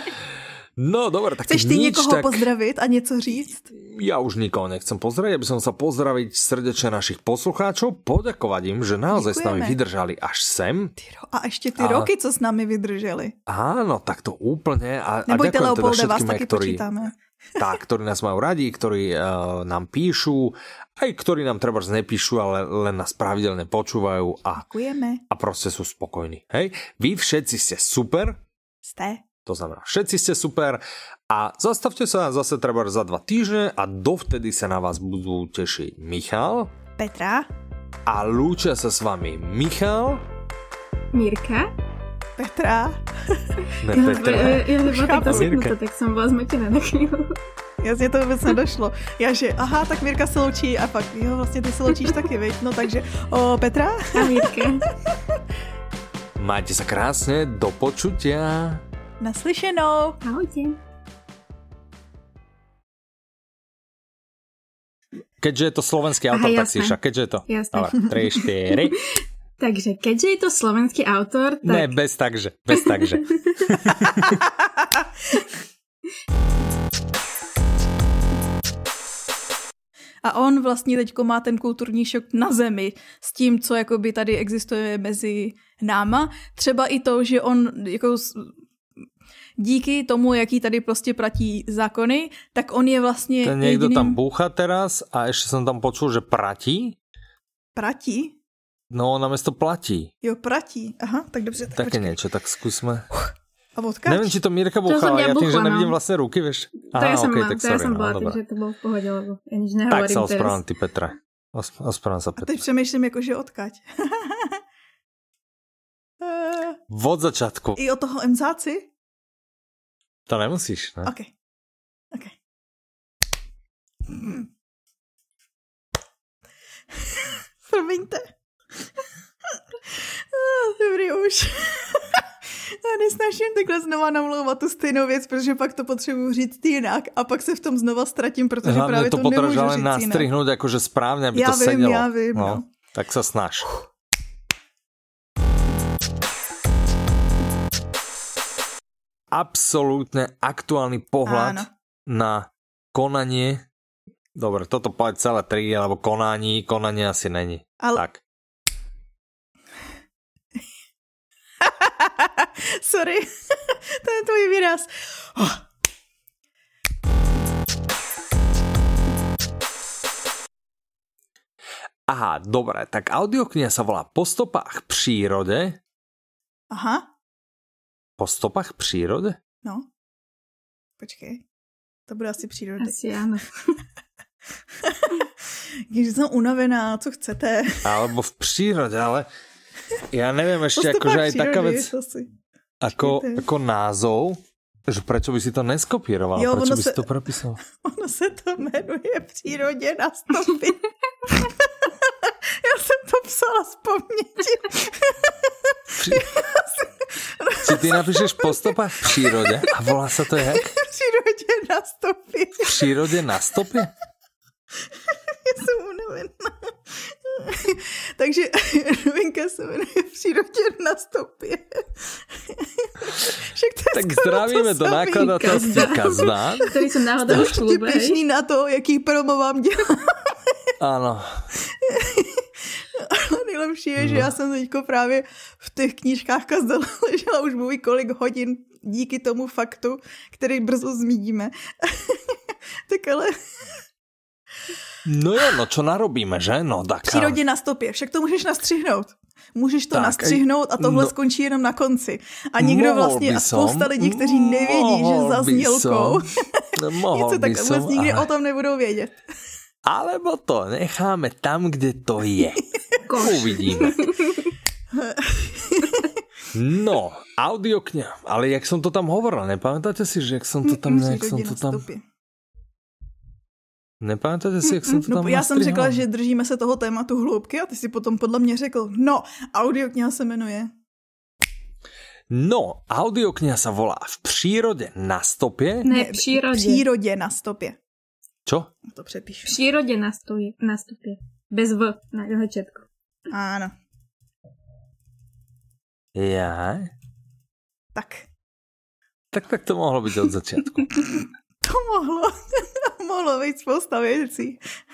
No, dobre, tak chceš ty nič, niekoho tak... pozdraviť a niečo říct? Ja už nikoho nechcem pozdraviť, aby som sa pozdraviť srdečne našich poslucháčov, poďakovať im, že naozaj s nami vydržali až sem. A ešte ty a... roky, co s nami vydrželi. Áno, tak to úplne. A, Nebojte, a ďakujem Leopolde, teda vás taky ktorí, počítame. Tak, ktorí nás majú radi, ktorí uh, nám píšu, aj ktorí nám trebárs nepíšu, ale len nás pravidelne počúvajú a, a proste sú spokojní. Hej? Vy všetci ste super. Ste. To znamená, všetci ste super a zastavte sa zase treba za dva týždne a dovtedy sa na vás budú tešiť Michal, Petra a lúčia sa s vami Michal, Mirka, Petra. Ne, Petra. Ja, ja, ja bola takto zvyknutá, tak som bola zmetená na chvíľu. Jasně to vůbec nedošlo. Já že, aha, tak Mirka se loučí a pak, jo, vlastně ty se loučíš taky, veď? No takže, o, Petra? A Mirka. Majte sa krásne, do počutia. Naslyšenou. Ahojte. Keďže je to slovenský autor, aha, tak si však, keďže je to. Jasné. Dobre, tri, štyri. Takže, keďže je to slovenský autor, tak... Ne, bez takže, bez takže. A on vlastně teďko má ten kulturní šok na zemi s tím, co jakoby tady existuje mezi náma. Třeba i to, že on jako díky tomu, jaký tady prostě platí zákony, tak on je vlastně ten niekto jediným... tam búcha teraz a ešte som tam počul, že pratí. Pratí? No, namiesto platí. Jo, pratí. Aha, tak dobře. Tak také počkej. niečo, tak skúsme. A vodka? Neviem, či to Mirka búchala, ja tým, že nevidím vlastne ruky, vieš. To ja som, okay, to ja som bola tým, že to bolo v pohode, lebo ja nič nehovorím teraz. Tak sa ospravedlňujem ty, Petra. Os- ospravedlňujem sa, Petra. A teď přemýšlím, jakože odkať. Od začiatku. I od toho emzáci? To nemusíš, ne? OK. OK. Promiňte. Dobrý už. Já nesnažím takhle znova namlouvat tu stejnou věc, protože pak to potřebuji říct jinak a pak se v tom znova ztratím, protože hlavne právě to, to nemůžu říct jinak. Hlavne nastrihnúť akože správne, aby já to vím, sedelo. Já vím, no. no. Tak sa snaž. Absolútne aktuálny pohľad Áno. na konanie. Dobre, toto povedz celé tri, alebo konání, konanie asi není. Ale... Tak. Sorry, to je tvoj výraz. Oh. Aha, dobre, tak audiokniha sa volá Po stopách přírode. Aha. Po stopách přírode? No. Počkej. To bude asi přírody. Asi áno. Když jsem unavená, co chcete. Alebo v přírode, ale Ja neviem ešte, akože aj taká vec, ako, ako názov, že prečo by si to neskopíroval, jo, prečo by se, si to prepísal? Ono se to jmenuje Přírodě na stopy. Já jsem to psala z paměti. Při... Si ty napíšeš po stopách v přírode a volá sa to jak? V přírodě na stopě. V přírodě na stopě? Já jsem unavená. Takže novinka se jmenuje V přírodě na stopě. Tak zdravíme do nakladatelství Kazdán. Který jsem náhodou v klube. Jste pišný na to, jaký promo vám dělá. Áno. Nejlepší je, no. že já jsem teďko právě v těch knížkách Kazdel ležela už můj kolik hodin díky tomu faktu, který brzo zmíníme. Tak ale... No jo, no čo narobíme, že? No tak. V přírodě na stopě, však to můžeš nastřihnout. Můžeš to tak, nastřihnout a tohle no, skončí jenom na konci. A nikdo vlastně, a spousta lidí, kteří nevědí, že za znělkou něco tak vůbec nikdy ale... o tom nebudou vědět. Alebo to necháme tam, kde to je. Uvidíme. No, audiokňa. Ale jak som to tam hovoril, nepamätáte si, že jak som to tam... Jak som to tam... Nepamätáte si, jak jsem to tam no, já jsem řekla, že držíme se toho tématu hloubky a ty si potom podle mě řekl, no, audiokniha se jmenuje. No, audiokniha sa volá V přírode na stopě. Ne, v přírodě. V přírodě na stopě. Čo? To přepíšu. V přírodě na, stoji, na stopě. Bez V na začátku. Áno. Ja? Tak. Tak, tak to mohlo byť od začiatku. To mohlo. Mohlo být spousta věcí.